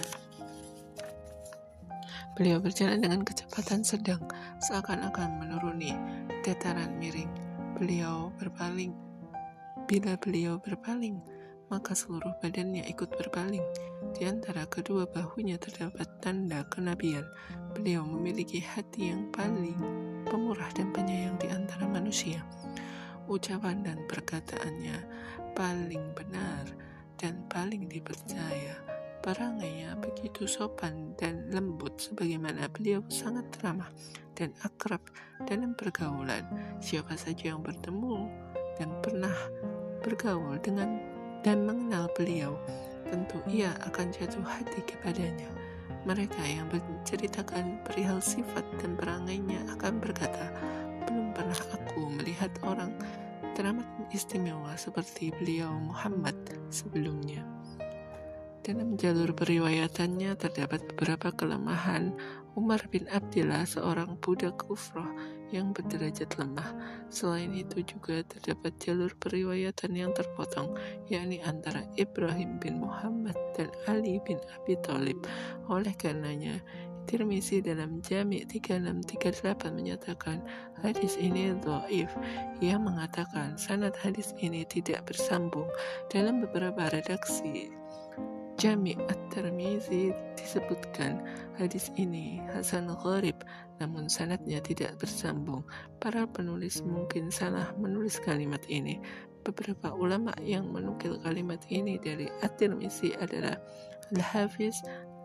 A: Beliau berjalan dengan kecepatan sedang, seakan-akan menuruni dataran miring. Beliau berpaling. Bila beliau berpaling, maka seluruh badannya ikut berpaling. Di antara kedua bahunya terdapat tanda kenabian. Beliau memiliki hati yang paling pemurah dan penyayang di antara manusia. Ucapan dan perkataannya paling benar dan paling dipercaya. Perangainya begitu sopan dan lembut, sebagaimana beliau sangat ramah dan akrab dalam pergaulan. Siapa saja yang bertemu dan pernah bergaul dengan dan mengenal beliau, tentu ia akan jatuh hati kepadanya. Mereka yang menceritakan perihal sifat dan perangainya akan berkata, belum pernah aku melihat orang teramat istimewa seperti beliau Muhammad sebelumnya. Dalam jalur periwayatannya terdapat beberapa kelemahan. Umar bin Abdillah seorang budak kufroh yang berderajat lemah. Selain itu juga terdapat jalur periwayatan yang terpotong, yakni antara Ibrahim bin Muhammad dan Ali bin Abi Thalib. Oleh karenanya, Tirmizi dalam Jami' tiga enam tiga delapan menyatakan hadis ini dhaif. Ia mengatakan sanad hadis ini tidak bersambung. Dalam beberapa redaksi Jami' At-Tirmizi disebutkan hadis ini hasan gharib, namun sanadnya tidak bersambung. Para penulis mungkin salah menulis kalimat ini. Beberapa ulama yang menukil kalimat ini dari At-Tirmizi adalah Al-Hafiz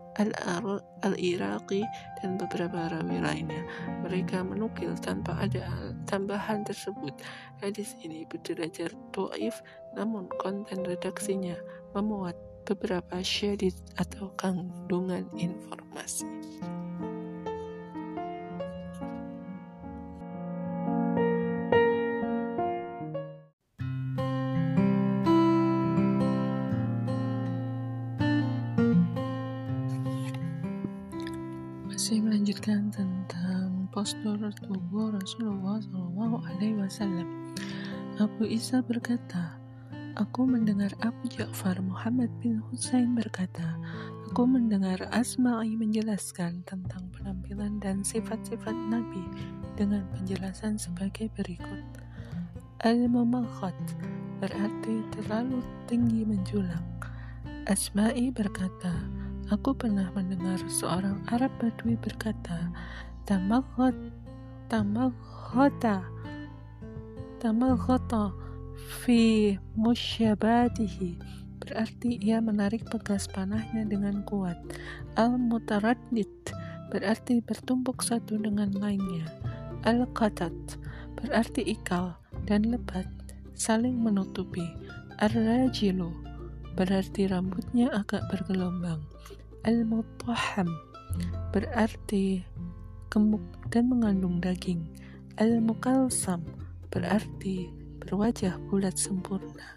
A: Al-Iraqi dan beberapa rawi lainnya. Mereka menukil tanpa ada tambahan tersebut. Hadis ini berderajat dhaif, namun konten redaksinya memuat beberapa syadid atau kandungan informasi. Masih melanjutkan tentang postur tubuh Rasulullah shallallahu alaihi wasallam. Abu Isa berkata, aku mendengar Abu Ja'far Muhammad bin Husain berkata, aku mendengar Asma'i menjelaskan tentang penampilan dan sifat-sifat Nabi dengan penjelasan sebagai berikut. Al-Mumakhat berarti terlalu tinggi menjulang. Asma'i berkata, aku pernah mendengar seorang Arab Badui berkata, Tamakhat, tamakhata, tamakhata fi musyabatihi, berarti ia menarik pegas panahnya dengan kuat. Al-mutaraddid berarti bertumpuk satu dengan lainnya. Al-qatat berarti ikal dan lebat saling menutupi. Ar-rajilu berarti rambutnya agak bergelombang. Al-mutahham berarti gemuk dan mengandung daging. Al-mukalsam berarti berwajah bulat sempurna.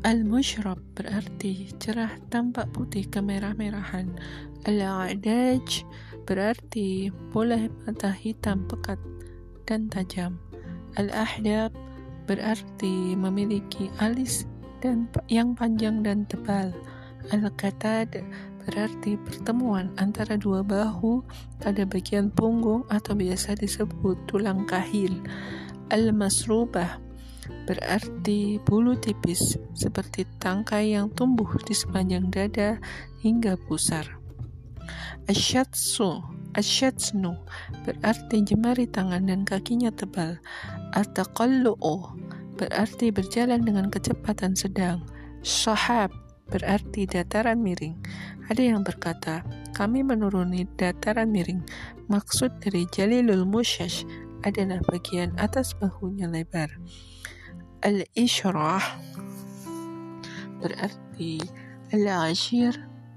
A: Al-mushrab berarti cerah tampak putih kemerah-merahan. Al-a'daj berarti bola mata hitam pekat dan tajam. Al-ahdab berarti memiliki alis dan yang panjang dan tebal. Al-qatad berarti pertemuan antara dua bahu pada bagian punggung atau biasa disebut tulang kahil. Al-masrubah berarti bulu tipis seperti tangkai yang tumbuh di sepanjang dada hingga pusar. Asyatsu Asyatsnu berarti jemari tangan dan kakinya tebal. At-taqallu'u berarti berjalan dengan kecepatan sedang. Syahab berarti dataran miring. Ada yang berkata, kami menuruni dataran miring. Maksud dari jalilul musyash adalah bagian atas bahunya lebar. Al-ishrah berarti al-ashir.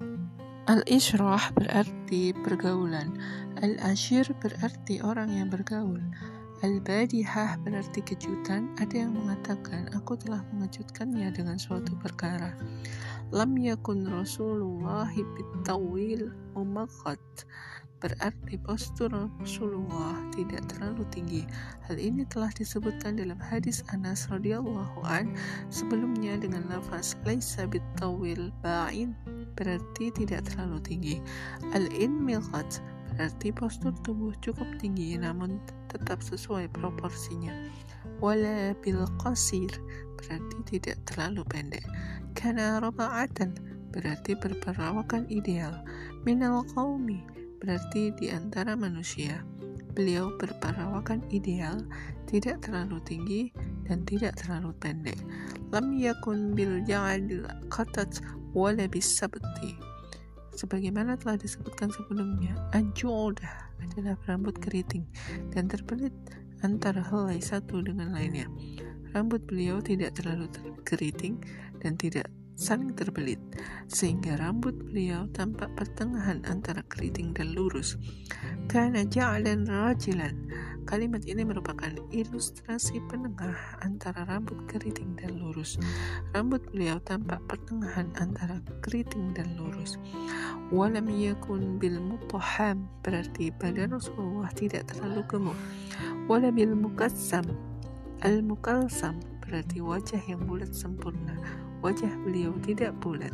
A: Al-ishrah berarti pergaulan. Al-ashir berarti orang yang bergaul. Al-badihah berarti kejutan. Ada yang mengatakan, aku telah mengejutkannya dengan suatu perkara. Lam yakun Rasulullah bitawil mumaqqat berarti postur Rasulullah tidak terlalu tinggi. Hal ini telah disebutkan dalam hadis Anas radhiyallahu an sebelumnya dengan lafaz laisa bitawil ba'in berarti tidak terlalu tinggi. Al-inmiqat berarti postur tubuh cukup tinggi namun tetap sesuai proporsinya. Wala bil qasir berarti tidak terlalu pendek. Kana raba'atan berarti berperawakan ideal. Minal qaumi berarti di antara manusia. Beliau berperawakan ideal, tidak terlalu tinggi dan tidak terlalu pendek. Lam yakun bil ja'adil qatat wala bis sabti. Sebagaimana telah disebutkan sebelumnya, an-ju'udah adalah rambut keriting dan terbelit antara helai satu dengan lainnya. Rambut beliau tidak terlalu keriting dan tidak saling terbelit, sehingga rambut beliau tampak pertengahan antara keriting dan lurus. Kana ja'lan rajilan. Kalimat ini merupakan ilustrasi penengah antara rambut keriting dan lurus. Rambut beliau tampak pertengahan antara keriting dan lurus. Walam yakun bil mutahham berarti badan Rasulullah tidak terlalu gemuk. Wala bil mukassam. Al-mukalsam berarti wajah yang bulat sempurna. Wajah beliau tidak bulat,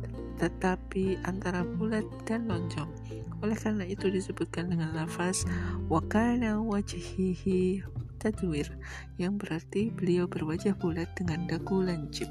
A: tetapi antara bulat dan lonjong. Oleh karena itu disebutkan dengan lafaz wa kana wajhihi tadwir, yang berarti beliau berwajah bulat dengan dagu lancip.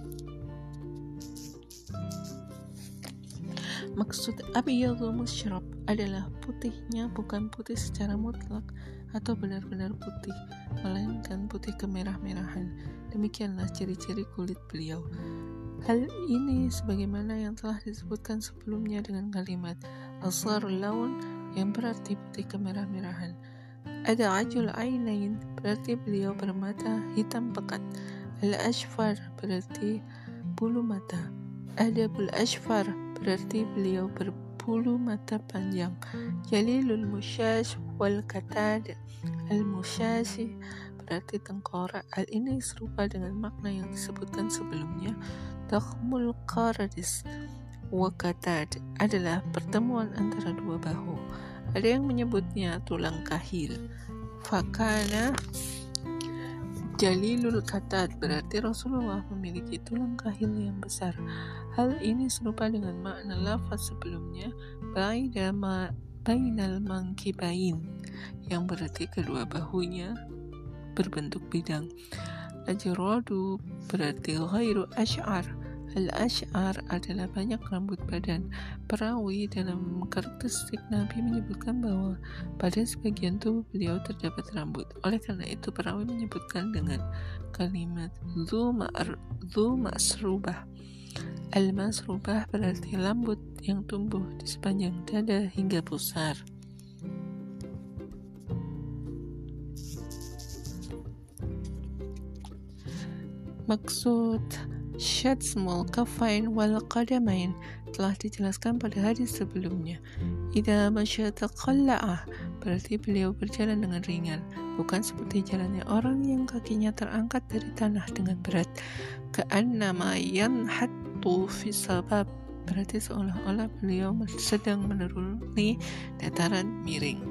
A: Maksud abyadul musyrab adalah putihnya bukan putih secara mutlak atau benar-benar putih, melainkan putih kemerah-merahan. Demikianlah ciri-ciri kulit beliau. Hal ini sebagaimana yang telah disebutkan sebelumnya dengan kalimat asarul laun yang berarti putih kemerah-merahan. Ada ajul ainain berarti beliau bermata hitam pekat. Al-ashfar berarti bulu mata. Adabul ashfar berarti beliau berbulu mata panjang. Jalilul musyash wal katad. Al-musyashi berarti tengkorak. Hal ini serupa dengan makna yang disebutkan sebelumnya. Dakhmul qaradis wa katad adalah pertemuan antara dua bahu. Ada yang menyebutnya tulang kahil. Fakana jalilul katad berarti Rasulullah memiliki tulang kahil yang besar. Hal ini serupa dengan makna lafaz sebelumnya baina ma bainal mankibain yang berarti kedua bahunya berbentuk bidang. Ajradu berarti ghairu asy'ar. Al-asy'ar adalah banyak rambut badan. Perawi dalam karakteristik Nabi menyebutkan bahwa pada sebagian tubuh beliau terdapat rambut. Oleh karena itu perawi menyebutkan dengan kalimat dzu masrubah. Al-masrubah berarti rambut yang tumbuh di sepanjang dada hingga pusar. Maksud syatsmul kafain wal qadamain telah dijelaskan pada hadis sebelumnya. Idza masya taqalla'a berarti beliau berjalan dengan ringan. dilakukan seperti jalannya orang yang kakinya terangkat dari tanah dengan berat. Ka'annama yanhattu fi sabab, berarti seolah-olah beliau sedang menuruni dataran miring.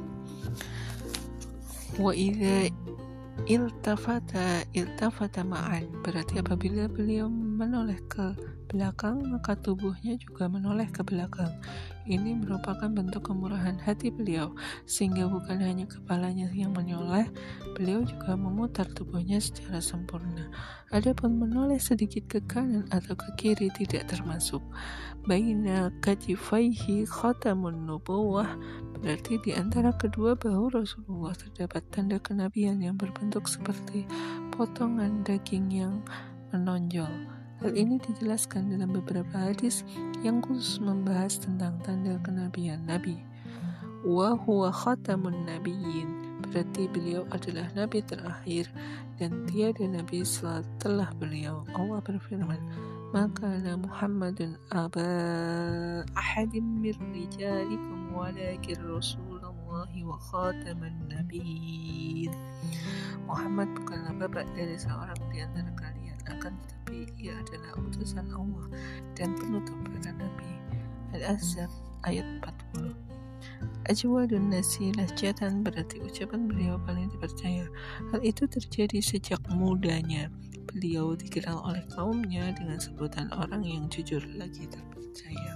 A: Wa idza iltafata iltafata ma'an, berarti apabila beliau menoleh ke belakang maka tubuhnya juga menoleh ke belakang. Ini merupakan bentuk kemurahan hati beliau, sehingga bukan hanya kepalanya yang menoleh, beliau juga memutar tubuhnya secara sempurna. Adapun menoleh sedikit ke kanan atau ke kiri tidak termasuk. Baina katifaihi khatamun nubuwah, berarti di antara kedua bahu Rasulullah terdapat tanda kenabian yang berbentuk seperti potongan daging yang menonjol. Hal ini dijelaskan dalam beberapa hadis yang khusus membahas tentang tanda kenabian Nabi. Wa huwa khatamun nabiyyin, berarti beliau adalah nabi terakhir dan tiada nabi setelah beliau. Allah berfirman, maka Muhammadun aba ahadim mir rijalikum walakin rasulullahi wa khataman nabiyyin. Muhammad bukanlah bapak dari seorang di antara kalian, akan tetapi ia adalah utusan Allah dan penutup para nabi. Al-Ahzab ayat empat puluh. Ajwadun nasi lahjatan, berarti ucapan beliau paling dipercaya. Hal itu terjadi sejak mudanya. Beliau dikenal oleh kaumnya dengan sebutan orang yang jujur lagi terpercaya.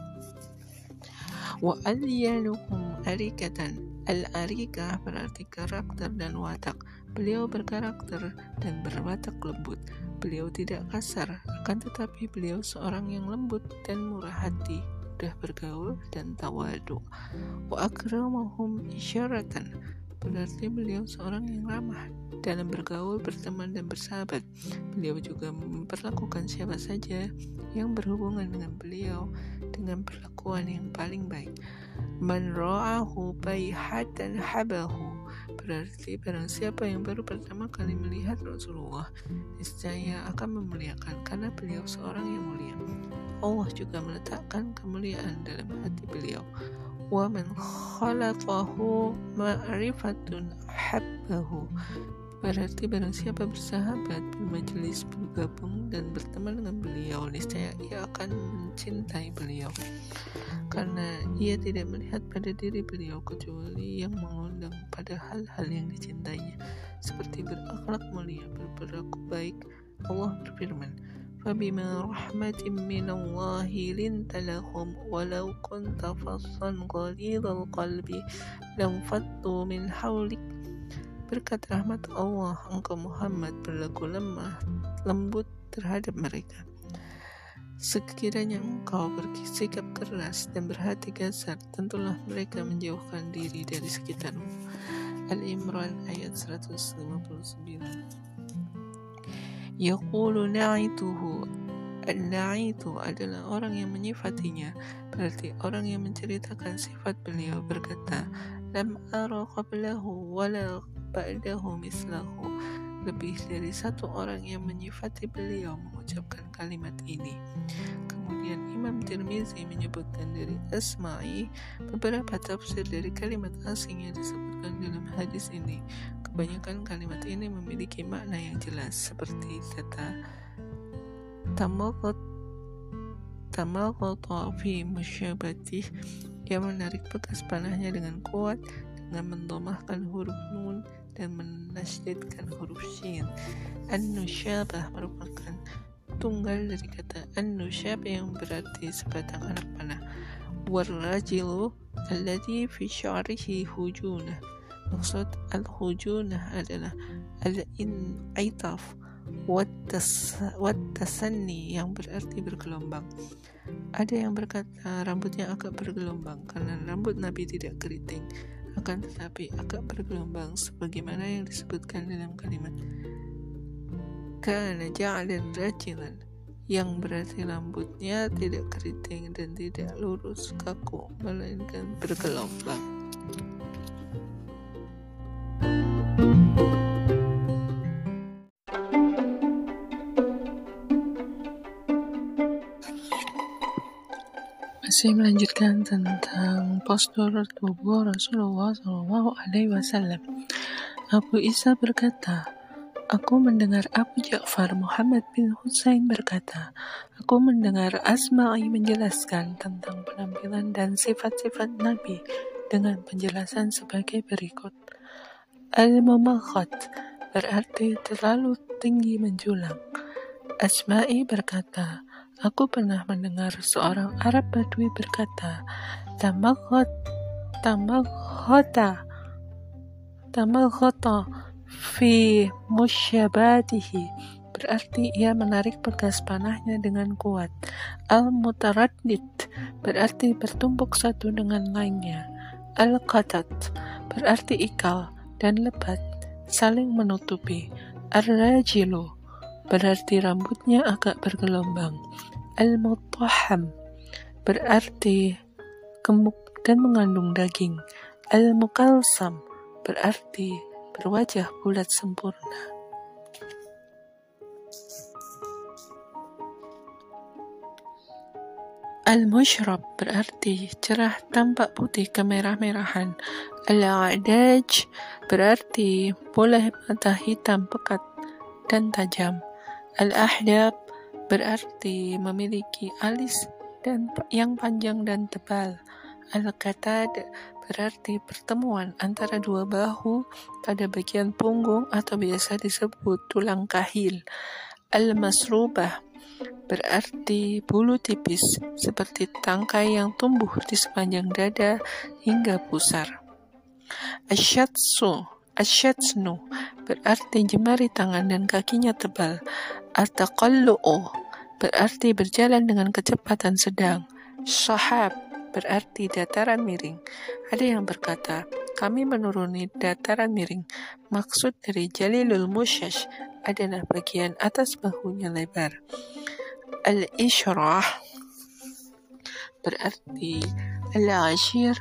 A: Wa alyanuhum arikatan, al-arikah berarti karakter dan watak. Beliau berkarakter dan berwatak lembut. Beliau tidak kasar, akan tetapi beliau seorang yang lembut dan murah hati, mudah bergaul dan tawadu. Wa akramahum isyaratan, berarti beliau seorang yang ramah dalam bergaul, berteman dan bersahabat. Beliau juga memperlakukan siapa saja yang berhubungan dengan beliau dengan perlakuan yang paling baik. Man ra'ahu bayhatan habahu, berarti barang siapa yang baru pertama kali melihat Rasulullah, niscaya akan memuliakan karena beliau seorang yang mulia. Allah juga meletakkan kemuliaan dalam hati beliau. Wa man khalatahu ma'rifatun habbahu, berarti barang siapa bersahabat, bermajelis, bergabung dan berteman dengan beliau, niscaya ia akan mencintai beliau karena ia tidak melihat pada diri beliau kecuali yang mengundang pada hal-hal yang dicintainya, seperti berakhlak mulia, berperilaku baik. Allah berfirman, فَبِمَا رَحْمَةٍ مِّنَ اللَّهِ لِنْتَ لَهُمْ وَلَوْ كُنْتَ فَظًّا غَلِيظَ الْقَلْبِ لَانفَضُّوا مِنْ حَوْلِكَ, berkat rahmat Allah engkau Muhammad berlaku lemah lembut terhadap mereka. Sekiranya engkau bersikap keras dan berhati kasar, tentulah mereka menjauhkan diri dari sekitarmu. Al-Imran ayat seratus lima puluh sembilan. Yaqulu na'ituhu, an-na'itu adalah orang yang menyifatinya, berarti orang yang menceritakan sifat beliau berkata, lam ara qablahu wala ba'dahu mislahu, lebih dari satu orang yang menyifati beliau mengucapkan kalimat ini. Kemudian Imam Tirmizi menyebutkan dari Asma'i beberapa tafsir dari kalimat asing yang disebutkan dalam hadis ini. Kebanyakan kalimat ini memiliki makna yang jelas, seperti kata tamaqat tamaqata fi musyabatih, yang menarik bekas panahnya dengan kuat dengan mendomahkan huruf nun dan menasydidkan huruf shin. An-nusyabah merupakan tunggal dari kata an-nusyab yang berarti sebatang anak panah. War-rajilu alladhi fi sya'rihi hujunah, maksud al-hujunah adalah al-in'itaf wat-tasanni yang berarti bergelombang. Ada yang berkata rambutnya agak bergelombang karena rambut Nabi tidak keriting, akan tetapi agak bergelombang sebagaimana yang disebutkan dalam kalimat kana ja'lan rajilan, yang berarti rambutnya tidak keriting dan tidak lurus kaku melainkan bergelombang. Masih melanjutkan tentang postur tubuh Rasulullah shallallahu alaihi wasallam. Abu Isa berkata, aku mendengar Abu Ja'far Muhammad bin Husain berkata, aku mendengar Asma'i menjelaskan tentang penampilan dan sifat-sifat Nabi dengan penjelasan sebagai berikut. Al-Mumakhat berarti terlalu tinggi menjulang. Asma'i berkata, aku pernah mendengar seorang Arab Badui berkata, Tamakhat, tamakhata, tamakhata fi musyabatihi, berarti ia menarik bekas panahnya dengan kuat. Al-Mutaraddid berarti bertumpuk satu dengan lainnya. Al-Qatat berarti ikal dan lebat, saling menutupi. Ar-Rajilu berarti rambutnya agak bergelombang. Al-Mutahham berarti gemuk dan mengandung daging. Al-Mukalsam berarti berwajah bulat sempurna. Al-Mushrab berarti cerah tampak putih kemerah-merahan. Al-A'daj berarti bola mata hitam pekat dan tajam. Al-Ahdab berarti memiliki alis dan yang panjang dan tebal. Al-Qatad berarti pertemuan antara dua bahu pada bagian punggung atau biasa disebut tulang kahil. Al-Masrubah berarti bulu tipis seperti tangkai yang tumbuh di sepanjang dada hingga pusar. Asyatsu Asyatsnu berarti jemari tangan dan kakinya tebal. At-taqallu'u berarti berjalan dengan kecepatan sedang. Sahab berarti dataran miring. Ada yang berkata, kami menuruni dataran miring. Maksud dari Jalilul Musyash adalah bagian atas bahunya lebar. Al-Ishrah berarti Al-Ashir.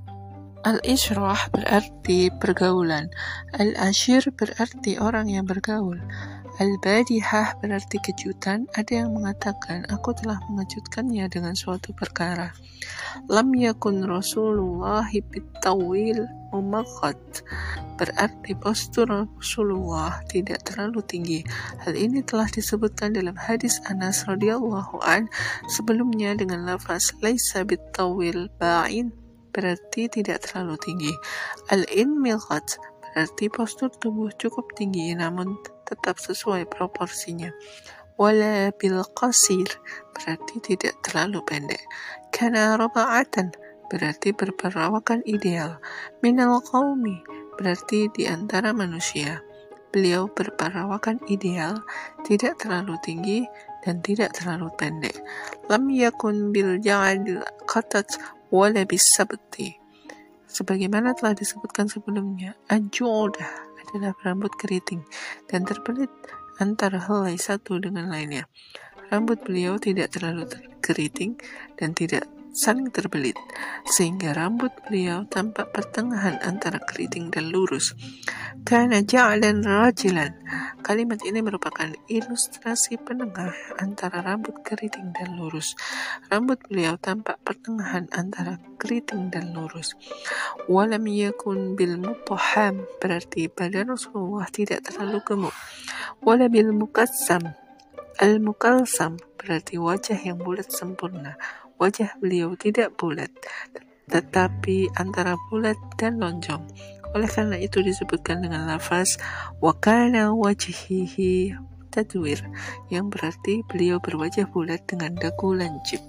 A: Al-Ishrah berarti pergaulan. Al-Ashir berarti orang yang bergaul. Al-Badihah berarti kejutan. Ada yang mengatakan, aku telah mengejutkannya dengan suatu perkara. Lam yakun Rasulullah bitawil mumakhat berarti postur Rasulullah tidak terlalu tinggi. Hal ini telah disebutkan dalam hadis Anas radhiyallahu an sebelumnya dengan lafaz laisa bitawil ba'in berarti tidak terlalu tinggi. Al-Inmilqat berarti postur tubuh cukup tinggi namun tetap sesuai proporsinya. Wala bil qasir berarti tidak terlalu pendek. Kana raba'atan berarti berperawakan ideal. Minal qaumi berarti di antara manusia. Beliau berperawakan ideal, tidak terlalu tinggi dan tidak terlalu pendek. Lam yakun bil ja'adil qatat wala bis sabti. Sebagaimana telah disebutkan sebelumnya, al-ju'udah adalah rambut keriting dan terbelit antara helai satu dengan lainnya. Rambut beliau tidak terlalu keriting dan tidak saling terbelit, sehingga rambut beliau tampak pertengahan antara keriting dan lurus. Kana ja'lan rajilan. Kalimat ini merupakan ilustrasi penengah antara rambut keriting dan lurus. Rambut beliau tampak pertengahan antara keriting dan lurus. Walam yakun bil mutahham berarti badan Rasulullah tidak terlalu gemuk. Wala bil mukassam. Al-mukalsam berarti wajah yang bulat sempurna. Wajah beliau tidak bulat, tetapi antara bulat dan lonjong. Oleh karena itu disebutkan dengan lafaz wa kana wajhihi tadwir, yang berarti beliau berwajah bulat dengan dagu lancip.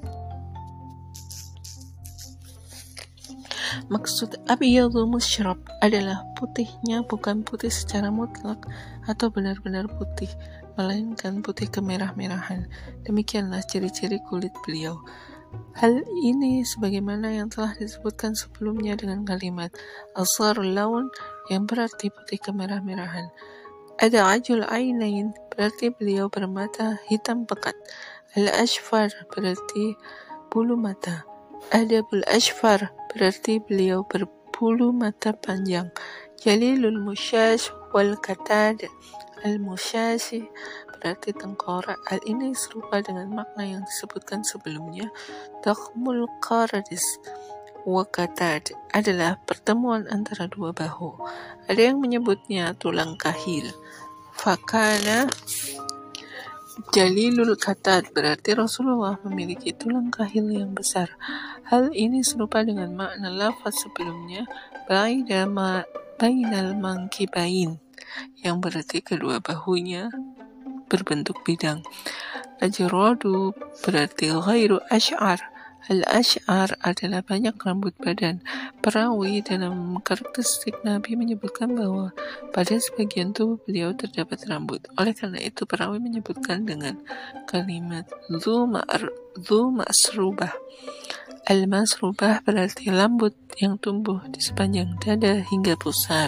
A: Maksud abyadul musyrab adalah putihnya bukan putih secara mutlak atau benar-benar putih, melainkan putih kemerah-merahan. Demikianlah ciri-ciri kulit beliau. Hal ini sebagaimana yang telah disebutkan sebelumnya dengan kalimat asarul laun yang berarti putih kemerah-merahan. Ada ajul ainain berarti beliau bermata hitam pekat. Al-ashfar berarti bulu mata. Adabul ashfar berarti beliau berbulu mata panjang. Jalilul musyash wal katad. Al-musyashi berarti tengkorak. Hal ini serupa dengan makna yang disebutkan sebelumnya. Dakhmul qaradis Waqatad adalah pertemuan antara dua bahu. Ada yang menyebutnya tulang kahil. Fakana Jalilul Qatad berarti Rasulullah memiliki tulang kahil yang besar. Hal ini serupa dengan makna lafaz sebelumnya baina ma bainal mankibain yang berarti kedua bahunya berbentuk bidang. Ajradu berarti ghairu ash'ar. Al-ash'ar adalah banyak rambut badan. Perawi dalam karakteristik Nabi menyebutkan bahwa pada sebagian tubuh beliau terdapat rambut. Oleh karena itu perawi menyebutkan dengan kalimat dzu ma'srubah. Al-masrubah berarti rambut yang tumbuh di sepanjang dada hingga pusar.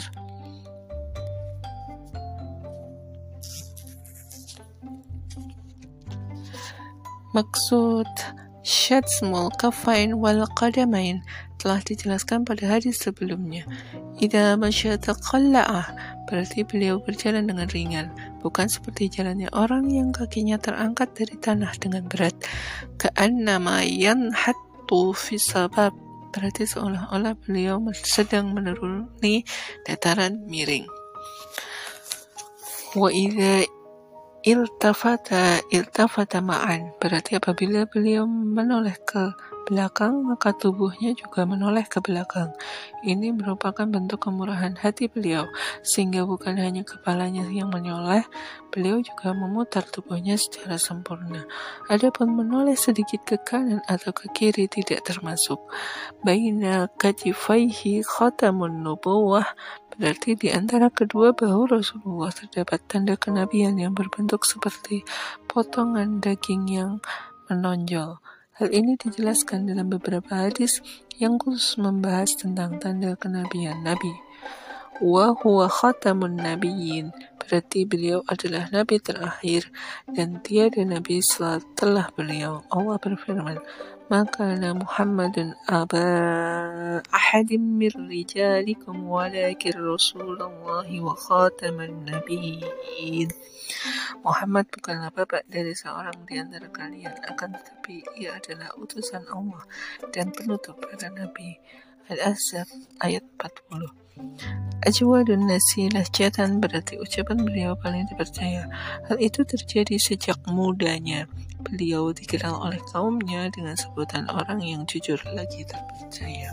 A: Maksud syatsmul kafain wal qadamain telah dijelaskan pada hadis sebelumnya. Idza masya taqalla'ah berarti beliau berjalan dengan ringan, bukan seperti jalannya orang yang kakinya terangkat dari tanah dengan berat. Ka'annama yanhattu fi sabab berarti seolah-olah beliau sedang menuruni dataran miring. Wa idza iltafata iltafata ma'an berarti apabila beliau menoleh ke belakang maka tubuhnya juga menoleh ke belakang. Ini merupakan bentuk kemurahan hati beliau sehingga bukan hanya kepalanya yang menoleh, beliau juga memutar tubuhnya secara sempurna. Adapun menoleh sedikit ke kanan atau ke kiri tidak termasuk. Baina katifaihi khatamun nubuwah berarti di antara kedua bahu Rasulullah terdapat tanda kenabian yang berbentuk seperti potongan daging yang menonjol. Hal ini dijelaskan dalam beberapa hadis yang khusus membahas tentang tanda kenabian Nabi. Wa huwa khatamun nabiyyin berarti beliau adalah nabi terakhir dan tiada nabi setelah beliau. Allah berfirman, maka Muhammadun aba ahadim mir rijalikum walakin Rasulullahi wa khataman nabiyyin. Muhammad bukanlah bapak dari seorang di antara kalian, akan tetapi ia adalah utusan Allah dan penutup para nabi. Al-Ahzab ayat empat puluh. Ajwadun nasi lahjatan berarti ucapan beliau paling dipercaya. Hal itu terjadi sejak mudanya. Beliau dikenal oleh kaumnya dengan sebutan orang yang jujur lagi terpercaya.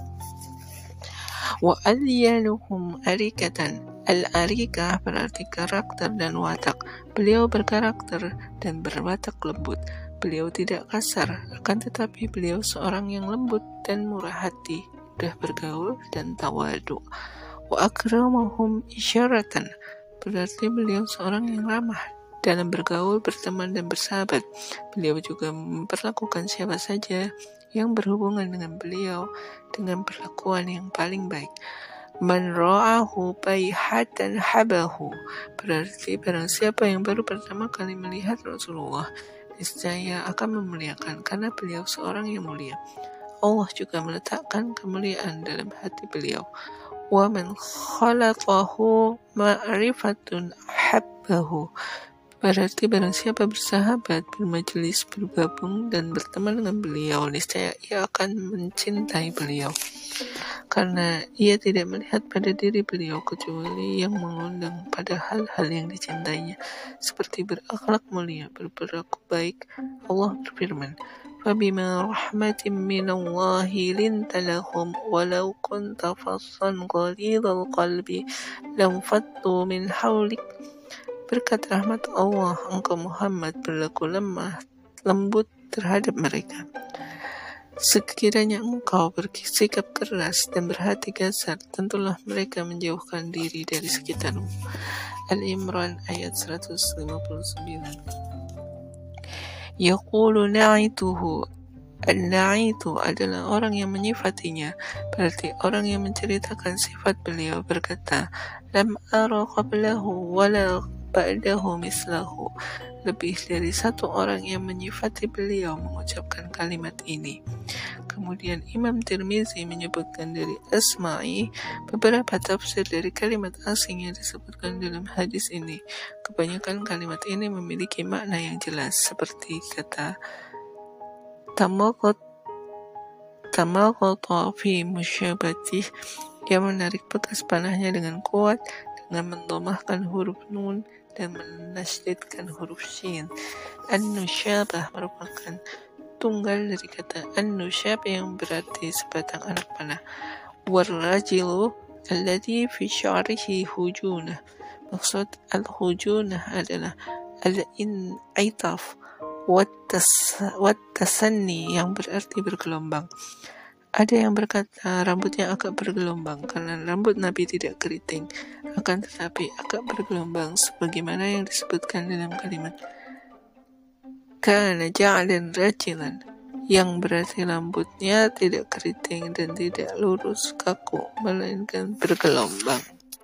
A: Wa alyanuhum arikatan. Al-arikah berarti karakter dan watak. Beliau berkarakter dan berwatak lembut. Beliau tidak kasar, akan tetapi beliau seorang yang lembut dan murah hati, mudah bergaul dan tawadu. Wa akramahum isyaratan berarti beliau seorang yang ramah dalam bergaul, berteman dan bersahabat. Beliau juga memperlakukan siapa saja yang berhubungan dengan beliau dengan perlakuan yang paling baik. Man ra'ahu bayhatan habahu berarti barang siapa yang baru pertama kali melihat Rasulullah niscaya akan memuliakan karena beliau seorang yang mulia. Allah juga meletakkan kemuliaan dalam hati beliau. Wa man khalaqahu ma'rifatun habbahu berarti barang siapa bersahabat, bermajelis, bergabung dan berteman dengan beliau niscaya ia akan mencintai beliau karena ia tidak melihat pada diri beliau kecuali yang mengundang pada hal-hal yang dicintainya seperti berakhlak mulia, berperilaku baik. Allah berfirman, فَبِمَا رَحْمَةٍ مِّنَ اللَّهِ لِنْتَ لَهُمْ وَلَوْ كُنْتَ فَظًّا غَلِيظَ الْقَلْبِ لَانفَضُّوا مِنْ حَوْلِكَ. Berkat rahmat Allah, engkau Muhammad berlaku lemah, lembut terhadap mereka. Sekiranya engkau bersikap keras dan berhati kasar, tentulah mereka menjauhkan diri dari sekitarmu. Al-Imran ayat seratus lima puluh sembilan. Yaqulu na'ituhu. An-na'itu adalah orang yang menyifatinya, berarti orang yang menceritakan sifat beliau berkata, Lam ara qablahu wala ba'dahu mislahu. Lebih dari satu orang yang menyifati beliau mengucapkan kalimat ini. Kemudian Imam Tirmizi menyebutkan dari Asma'i beberapa tafsir dari kalimat asing yang disebutkan dalam hadis ini. Kebanyakan kalimat ini memiliki makna yang jelas seperti kata Tamaqat Tamaghata fi musyabatih, ia menarik bekas panahnya dengan kuat dengan mendhamahkan huruf nun dan menasdidkan huruf shin. An-nusyabah merupakan tunggal dari kata an-nusyab yang berarti sebatang anak panah. War-rajilu alladhi fi sya'rihi hujunah. Maksud al-hujunah adalah al-in'itaf wat-tasanni yang berarti bergelombang. Ada yang berkata rambutnya agak bergelombang karena rambut Nabi tidak keriting, akan tetapi agak bergelombang sebagaimana yang disebutkan dalam kalimat kana ja'lan rajilan, yang berarti rambutnya tidak keriting dan tidak lurus kaku, melainkan bergelombang.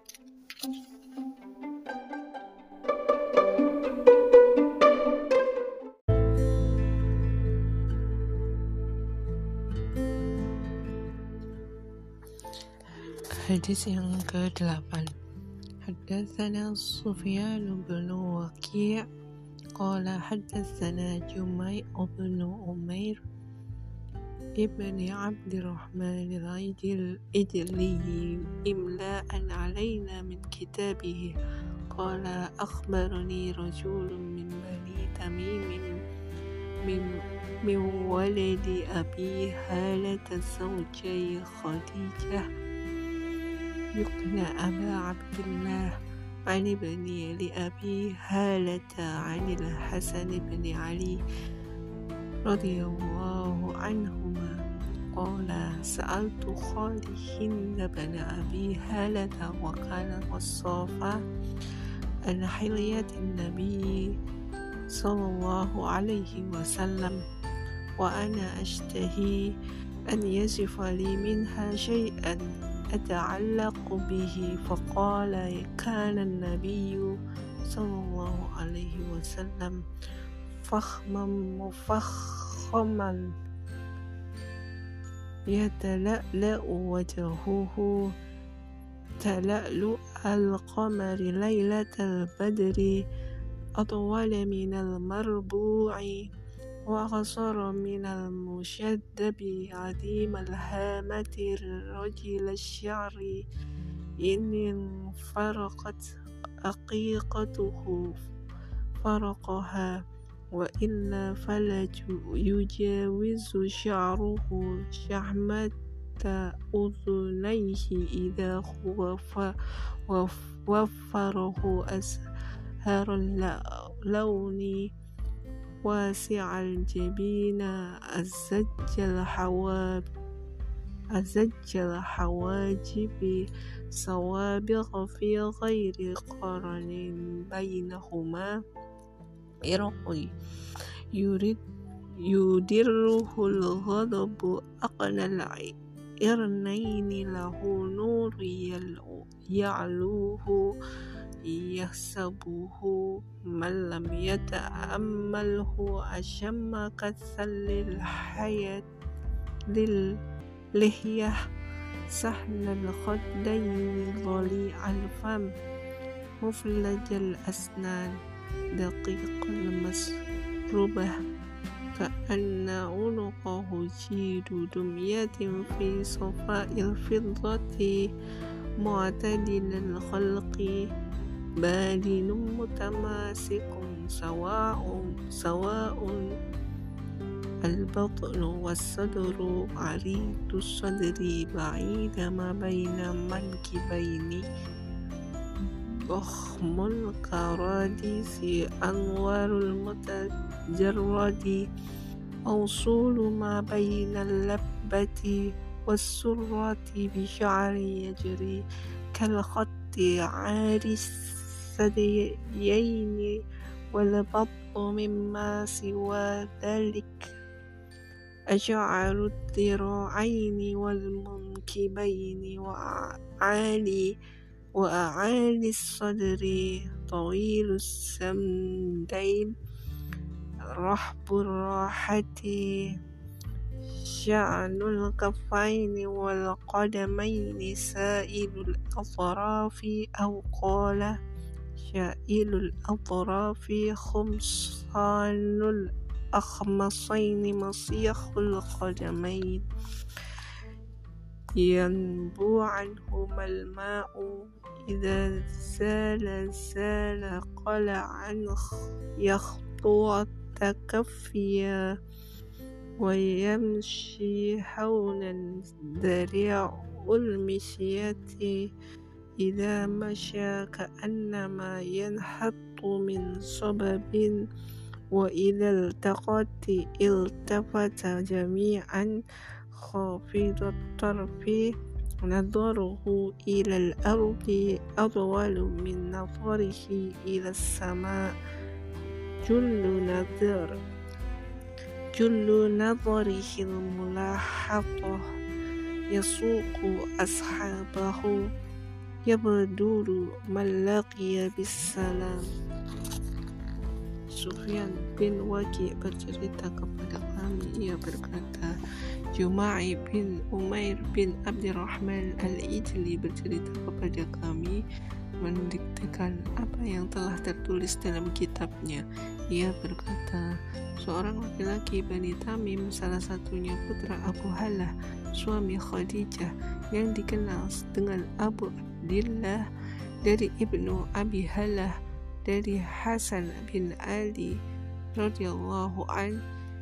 A: Hadis yang kedelapan. Haddatsana Sufyan bin Waki' qala haddatsana Jumay' bin Umair ibn Abdurrahman al-Ijli imla'an alayna min kitabihi qala akhbarani rajulun min bani Tamim min min waladi Abi Halah zawjay Khadijah يقنى أبا عبد الله عن ابن لأبي هالة عن الحسن بن علي رضي الله عنهما قال سألت خالي هند بن أبي هالة وكان وصافا عن حلية النبي صلى الله عليه وسلم وأنا أشتهي أن يصف لي منها شيئا أتعلق به فقال كان النبي صلى الله عليه وسلم فخما مفخما يتلألأ وجهه تلألؤ القمر ليلة البدر أطول من المربوع وأقصر من المشدب عديم الهامة رجل الشعر إن انفرقت أقيقته فرقها وإلا فلا يجاوز شعره شحمة أذنيه إذا وفره أزهر اللون واسع الجبين أزج الحواب أزج الحواجب سوابغ في غير قرن بينهما إرقي يريد يدره الغضب أقنى العرنين له نور يعلوه يحسبه من لم يتأمله أشم كالثل الحياة للحية سهل الخدين ضليع الفم مفلج الأسنان دقيق المسربة كأن عنقه جيد دمية في صفاء الفضة معتدل الخلق بادن متماسك سواء سواء البطن والصدر عريض الصدر بعيد ما بين منكبين ضخم الكراديس أنوار المتجرد موصول ما بين اللبة والسرة بشعر يجري كالخط عاري الثديين والبطن مما سوى ذلك أشعر الذراعين والمنكبين وأعالي وأعالي الصدر طويل السمدين رحب الراحة شأن الكفين والقدمين سائل الأطراف أو قال شائل الأطراف خمصان الأخمصين مصيخ القدمين ينبو عنهما الماء إذا زال زال قلعا يخطو تكفيا ويمشي حولا ذريع المشية إذا مشى كأنما ينحط من صبب وإذا التقت التفت جميعا خافض الطرف نظره إلى الأرض أطول من نظره إلى السماء جل نظر جل نظره الملاحظة يسوق أصحابه يبدو من لقي بالسلام. Sufyan bin Waki bercerita kepada kami, ia berkata, Juma'i bin Umair bin Abdurrahman al-Ijli bercerita kepada kami, mendiktekan apa yang telah tertulis dalam kitabnya. Ia berkata, seorang laki-laki Bani Tamim, salah satunya putra Abu Halah, suami Khadijah, yang dikenal dengan Abu Abdillah, dari ibnu Abi Halah, dari Hasan bin Ali radhiyallahu an,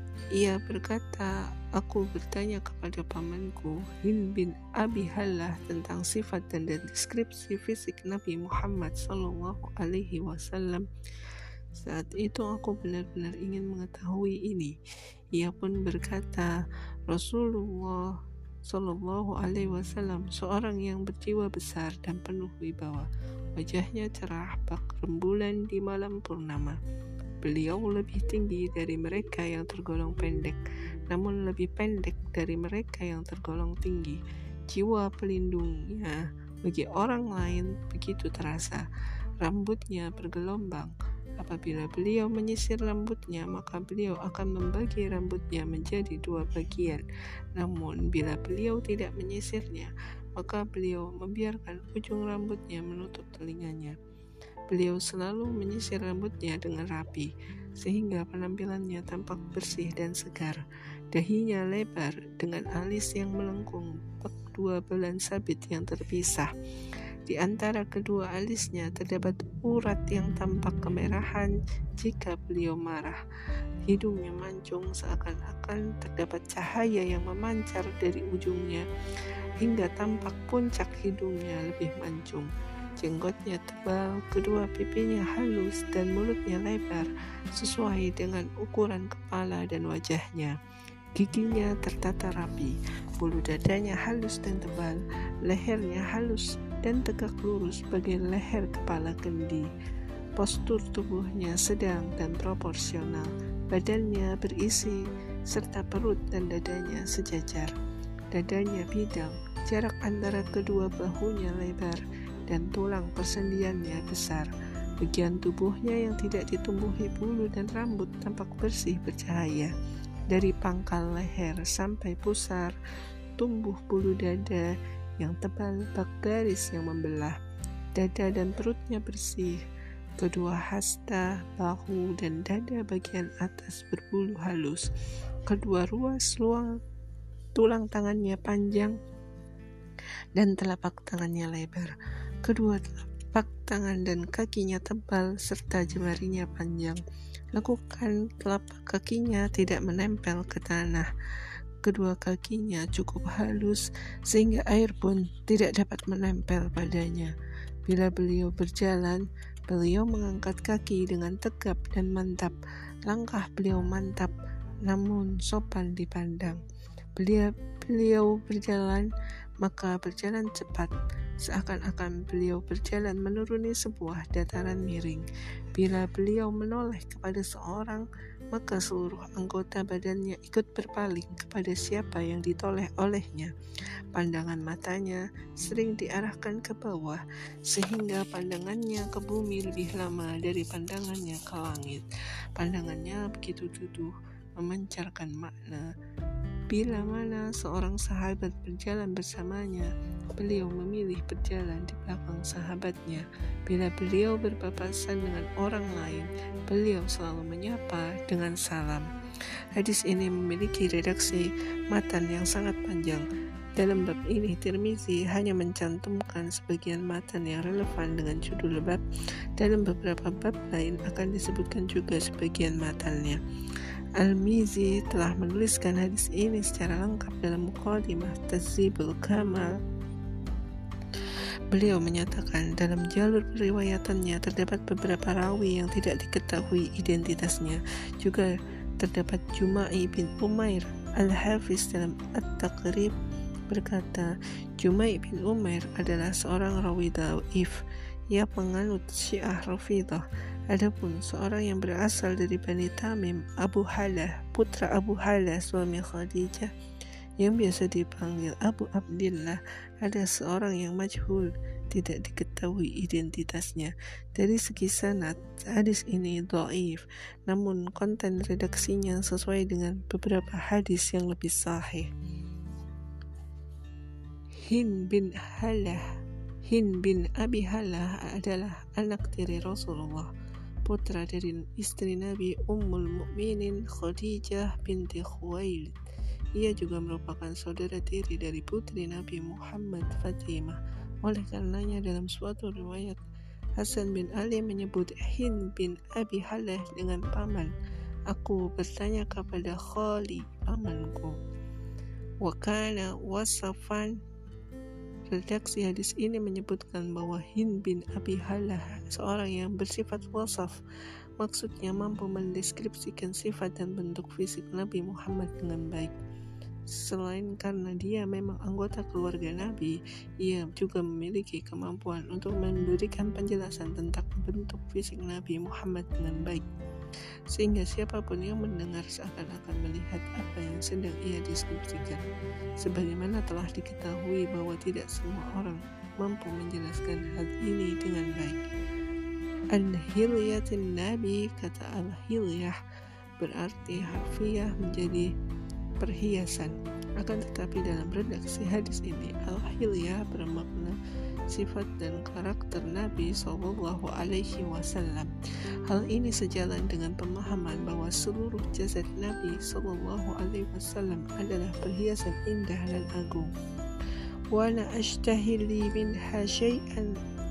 A: ia berkata, aku bertanya kepada pamanku Hind bin Abi Halah tentang sifat dan deskripsi fisik Nabi Muhammad sallallahu alaihi wasallam. Saat itu aku benar-benar ingin mengetahui ini. Ia pun berkata, Rasulullah sallallahu alaihi wasallam seorang yang berjiwa besar dan penuh wibawa. Wajahnya cerah bak rembulan di malam purnama. Beliau lebih tinggi dari mereka yang tergolong pendek, namun lebih pendek dari mereka yang tergolong tinggi. Jiwa pelindungnya bagi orang lain begitu terasa. Rambutnya bergelombang. Apabila beliau menyisir rambutnya, maka beliau akan membagi rambutnya menjadi dua bagian. Namun bila beliau tidak menyisirnya, maka beliau membiarkan ujung rambutnya menutup telinganya. Beliau selalu menyisir rambutnya dengan rapi, sehingga penampilannya tampak bersih dan segar. Dahinya lebar dengan alis yang melengkung, bak dua bulan sabit yang terpisah. Di antara kedua alisnya terdapat urat yang tampak kemerahan jika beliau marah. Hidungnya mancung seakan-akan terdapat cahaya yang memancar dari ujungnya, hingga tampak puncak hidungnya lebih mancung. Jenggotnya tebal, kedua pipinya halus, dan mulutnya lebar, sesuai dengan ukuran kepala dan wajahnya. Giginya tertata rapi, bulu dadanya halus dan tebal, lehernya halus dan tegak lurus bagai leher kepala kendi. Postur tubuhnya sedang dan proporsional, badannya berisi serta perut dan dadanya sejajar. Dadanya bidang, jarak antara kedua bahunya lebar, dan tulang persendiannya besar. Bagian tubuhnya yang tidak ditumbuhi bulu dan rambut tampak bersih bercahaya. Dari pangkal leher sampai pusar tumbuh bulu dada yang tebal bak garis yang membelah. Dada dan perutnya bersih. Kedua hasta, bahu, dan dada bagian atas berbulu halus. Kedua ruas luang tulang tangannya panjang dan telapak tangannya lebar. Kedua telapak tangan dan kakinya tebal serta jemarinya panjang. Lekukan telapak kakinya tidak menempel ke tanah. Kedua kakinya cukup halus sehingga air pun tidak dapat menempel padanya. Bila beliau berjalan, beliau mengangkat kaki dengan tegap dan mantap. Langkah beliau mantap namun sopan dipandang. Beliau, beliau berjalan maka berjalan cepat, seakan-akan beliau berjalan menuruni sebuah dataran miring. Bila beliau menoleh kepada seorang, maka seluruh anggota badannya ikut berpaling kepada siapa yang ditoleh olehnya. Pandangan matanya sering diarahkan ke bawah, sehingga pandangannya ke bumi lebih lama dari pandangannya ke langit. Pandangannya begitu duduh, memancarkan makna Bila mana seorang sahabat berjalan bersamanya, beliau memilih berjalan di belakang sahabatnya. Bila beliau berpapasan dengan orang lain, beliau selalu menyapa dengan salam. Hadis ini memiliki redaksi matan yang sangat panjang. Dalam bab ini, Tirmizi hanya mencantumkan sebagian matan yang relevan dengan judul bab. Dalam beberapa bab lain akan disebutkan juga sebagian matannya. Al-Mizi telah menuliskan hadis ini secara lengkap dalam Muqaddimah Tahdzibul Kamal. Beliau menyatakan dalam jalur periwayatannya terdapat beberapa rawi yang tidak diketahui identitasnya. Juga terdapat Jumai bin Umair. Al-Hafiz dalam At-Taqrib berkata, Jumai bin Umair adalah seorang rawi dhaif. Ia penganut Syiah Rafidah. Adapun seorang yang berasal dari Bani Tamim, Abu Halah, putra Abu Halah suami Khadijah, yang biasa dipanggil Abu Abdillah, ada seorang yang majhul, tidak diketahui identitasnya. Dari segi sanad, hadis ini dhaif, namun konten redaksinya sesuai dengan beberapa hadis yang lebih sahih. Hind bin Halah Hind bin Abi Halah adalah anak tiri Rasulullah, putra dari istri Nabi Ummul Mukminin Khadijah binti Khuwailid. Ia juga merupakan saudara tiri dari putri Nabi Muhammad Fatimah. Oleh karenanya dalam suatu riwayat, Hasan bin Ali menyebut Hind bin Abi Halah dengan paman. Aku bertanya kepada Khali, pamanku. Wa kana wasafan. Redaksi hadis ini menyebutkan bahwa Hind bin Abi Halah seorang yang bersifat wasaf, maksudnya mampu mendeskripsikan sifat dan bentuk fisik Nabi Muhammad dengan baik. Selain karena dia memang anggota keluarga Nabi, ia juga memiliki kemampuan untuk memberikan penjelasan tentang bentuk fisik Nabi Muhammad dengan baik, sehingga siapapun yang mendengar seakan-akan melihat apa yang sedang ia deskripsikan. Sebagaimana telah diketahui bahwa tidak semua orang mampu menjelaskan hal ini dengan baik. Al-Hilyatin Nabi, kata Al-Hilyah berarti harfiah menjadi perhiasan. Akan tetapi dalam redaksi hadis ini, Al-Hilyah bermakna sifat dan karakter Nabi Shallallahu Alaihi Wasallam. Hal ini sejalan dengan pemahaman bahwa seluruh jasad Nabi Shallallahu Alaihi Wasallam adalah perhiasan indah dan agung. Wa la ashtahi li minha syai'an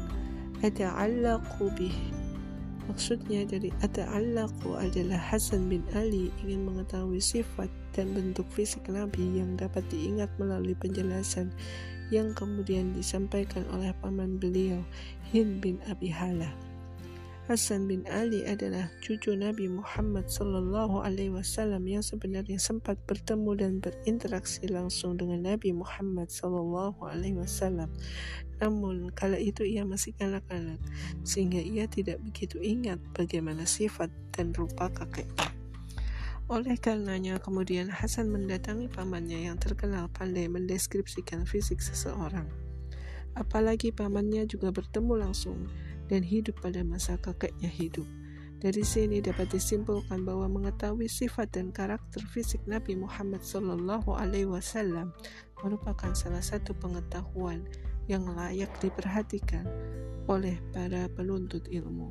A: ata'allaqu bih. Maksudnya dari ata'allaqu adalah Hasan bin Ali ingin mengetahui sifat dan bentuk fisik Nabi yang dapat diingat melalui penjelasan yang kemudian disampaikan oleh paman beliau, Hind bin Abi Halah. Hasan bin Ali adalah cucu Nabi Muhammad Sallallahu Alaihi Wasallam yang sebenarnya sempat bertemu dan berinteraksi langsung dengan Nabi Muhammad Sallallahu Alaihi Wasallam. Namun kala itu ia masih kanak-kanak, sehingga ia tidak begitu ingat bagaimana sifat dan rupa kakeknya. Oleh karenanya kemudian Hasan mendatangi pamannya yang terkenal pandai mendeskripsikan fisik seseorang. Apalagi pamannya juga bertemu langsung dan hidup pada masa kakeknya hidup. Dari sini dapat disimpulkan bahwa mengetahui sifat dan karakter fisik Nabi Muhammad Sallallahu Alaihi Wasallam merupakan salah satu pengetahuan yang layak diperhatikan oleh para penuntut ilmu.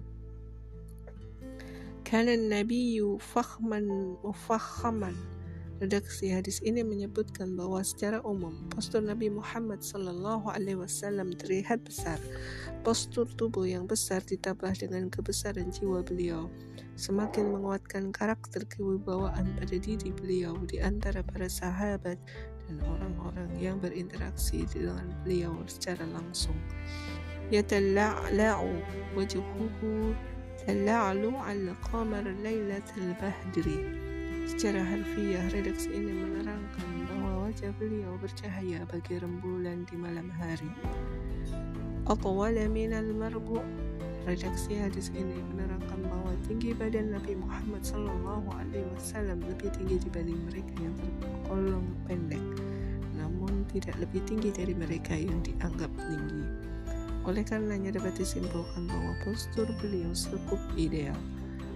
A: Kana Nabiyyu fakhman mufakhaman. Redaksi hadis ini menyebutkan bahwa secara umum postur Nabi Muhammad Sallallahu Alaihi Wasallam terlihat besar. Postur tubuh yang besar ditambah dengan kebesaran jiwa beliau semakin menguatkan karakter kewibawaan pada diri beliau di antara para sahabat dan orang-orang yang berinteraksi dengan beliau secara langsung. Yatalla'la'u wajhuhu tala'lu al-qamar laylatul badri. Secara harfiah, redaksi ini menerangkan bahwa wajah beliau bercahaya bagi rembulan di malam hari. Atwala minal marbu. Redaksi hadis ini menerangkan bahwa tinggi badan Nabi Muhammad Sallallahu Alaihi Wasallam lebih tinggi dibanding mereka yang tergolong pendek, namun tidak lebih tinggi dari mereka yang dianggap tinggi. Oleh karenanya dapat disimpulkan bahwa postur beliau cukup ideal.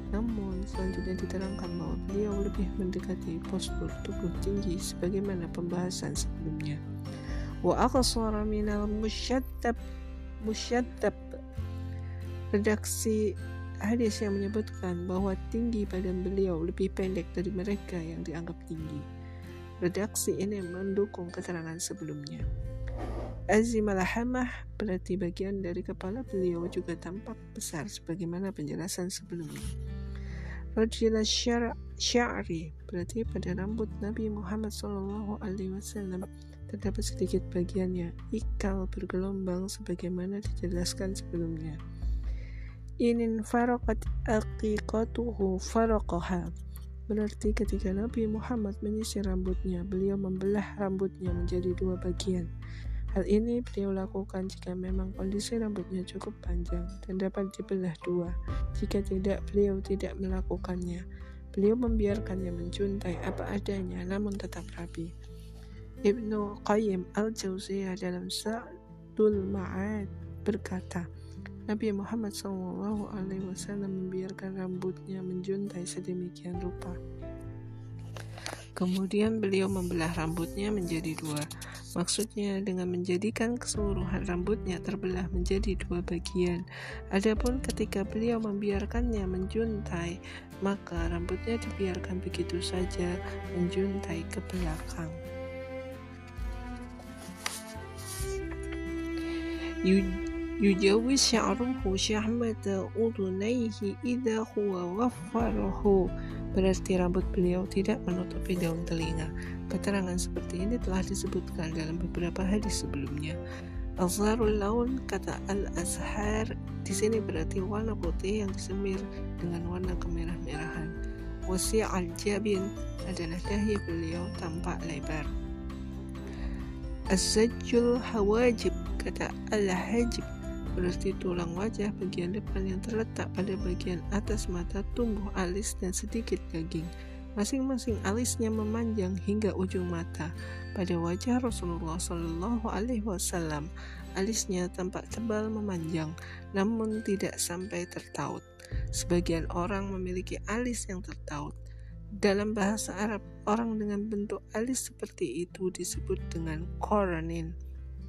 A: Namun selanjutnya diterangkan bahwa beliau lebih mendekati postur tubuh tinggi sebagaimana pembahasan sebelumnya. Wa aqsara minal musyaddab musyaddab. Redaksi hadis yang menyebutkan bahwa tinggi badan beliau lebih pendek dari mereka yang dianggap tinggi. Redaksi ini mendukung keterangan sebelumnya. Azimal hamah berarti bagian dari kepala beliau juga tampak besar sebagaimana penjelasan sebelumnya. Rajil sya'ri berarti pada rambut Nabi Muhammad shallallahu alaihi wasallam terdapat sedikit bagiannya ikal bergelombang sebagaimana dijelaskan sebelumnya. Inin faraqat aqiqatuhu faraqaha berarti ketika Nabi Muhammad menyisir rambutnya, beliau membelah rambutnya menjadi dua bagian. Hal ini beliau lakukan jika memang kondisi rambutnya cukup panjang dan dapat dibelah dua. Jika tidak, beliau tidak melakukannya. Beliau membiarkannya menjuntai apa adanya namun tetap rapi. Ibnu Qayyim al-Jauziyah dalam Zadul Ma'ad berkata, Nabi Muhammad shallallahu alaihi wasallam membiarkan rambutnya menjuntai sedemikian rupa. Kemudian beliau membelah rambutnya menjadi dua. Maksudnya dengan menjadikan keseluruhan rambutnya terbelah menjadi dua bagian. Adapun ketika beliau membiarkannya menjuntai, maka rambutnya dibiarkan begitu saja menjuntai ke belakang. Yujawiz sya'ruhu syahmata udunaihi idha huwa waffarahu berarti rambut beliau tidak menutupi daun telinga. Keterangan seperti ini telah disebutkan dalam beberapa hadis sebelumnya. Azharul laun kata al-azhar di sini berarti warna putih yang disemir dengan warna kemerah-merahan. Wasi'al jabin adalah dahi beliau tampak lebar. Az-zajjul hawajib kata al-hajib berarti tulang wajah bagian depan yang terletak pada bagian atas mata tumbuh alis dan sedikit daging. Masing-masing alisnya memanjang hingga ujung mata. Pada wajah Rasulullah shallallahu alaihi wasallam, alisnya tampak tebal memanjang, namun tidak sampai tertaut. Sebagian orang memiliki alis yang tertaut. Dalam bahasa Arab, orang dengan bentuk alis seperti itu disebut dengan qaranin.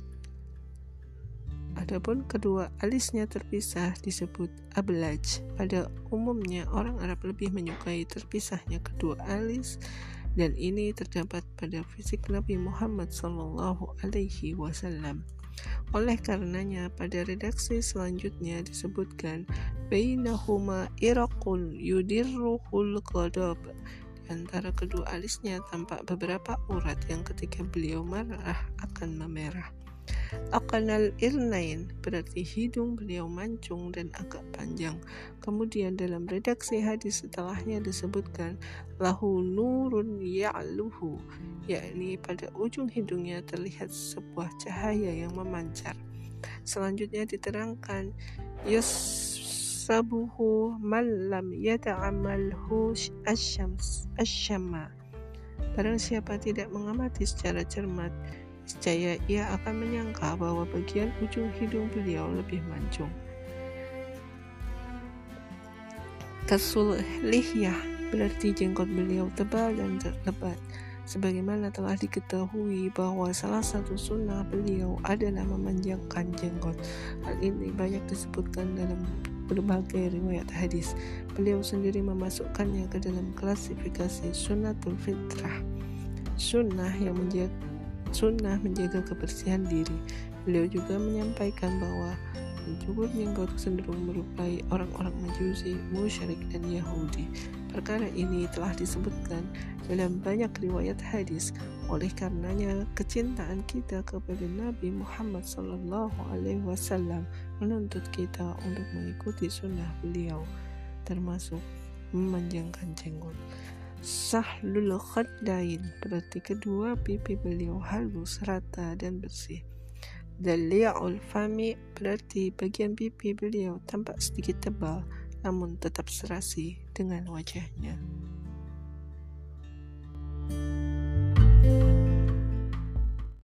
A: Adapun kedua alisnya terpisah disebut ablaj. Pada umumnya orang Arab lebih menyukai terpisahnya kedua alis dan ini terdapat pada fisik Nabi Muhammad shallallahu alaihi wasallam. Oleh karenanya pada redaksi selanjutnya disebutkan bainahuma iraqun yudirruhul qadab. Di antara kedua alisnya tampak beberapa urat yang ketika beliau marah akan memerah. Aqnal irnain berarti hidung beliau mancung dan agak panjang. Kemudian dalam redaksi hadis setelahnya disebutkan lahu nurun ya'luhu, yakni pada ujung hidungnya terlihat sebuah cahaya yang memancar. Selanjutnya diterangkan yasabuhu man lam yata'amalhu asyams asyama. Barang siapa tidak mengamati secara cermat, niscaya ia akan menyangka bahwa bagian ujung hidung beliau lebih mancung. Kasul lihyah berarti jenggot beliau tebal dan lebat. Sebagaimana telah diketahui bahwa salah satu sunnah beliau adalah memanjangkan jenggot. Hal ini banyak disebutkan dalam berbagai riwayat hadis. Beliau sendiri memasukkannya ke dalam klasifikasi sunnatul fitrah, sunnah yang menjaga sunnah menjaga kebersihan diri. Beliau juga menyampaikan bahwa mencukur jenggot cenderung merupai orang-orang Majusi, musyrik dan Yahudi. Perkara ini telah disebutkan dalam banyak riwayat hadis. Oleh karenanya kecintaan kita kepada Nabi Muhammad sallallahu alaihi wasallam menuntut kita untuk mengikuti sunnah beliau, termasuk memanjangkan jenggot. Sahlul khaddain berarti kedua pipi beliau halus, rata dan bersih. Dali'ul fami berarti bagian pipi beliau tampak sedikit tebal namun tetap serasi dengan wajahnya.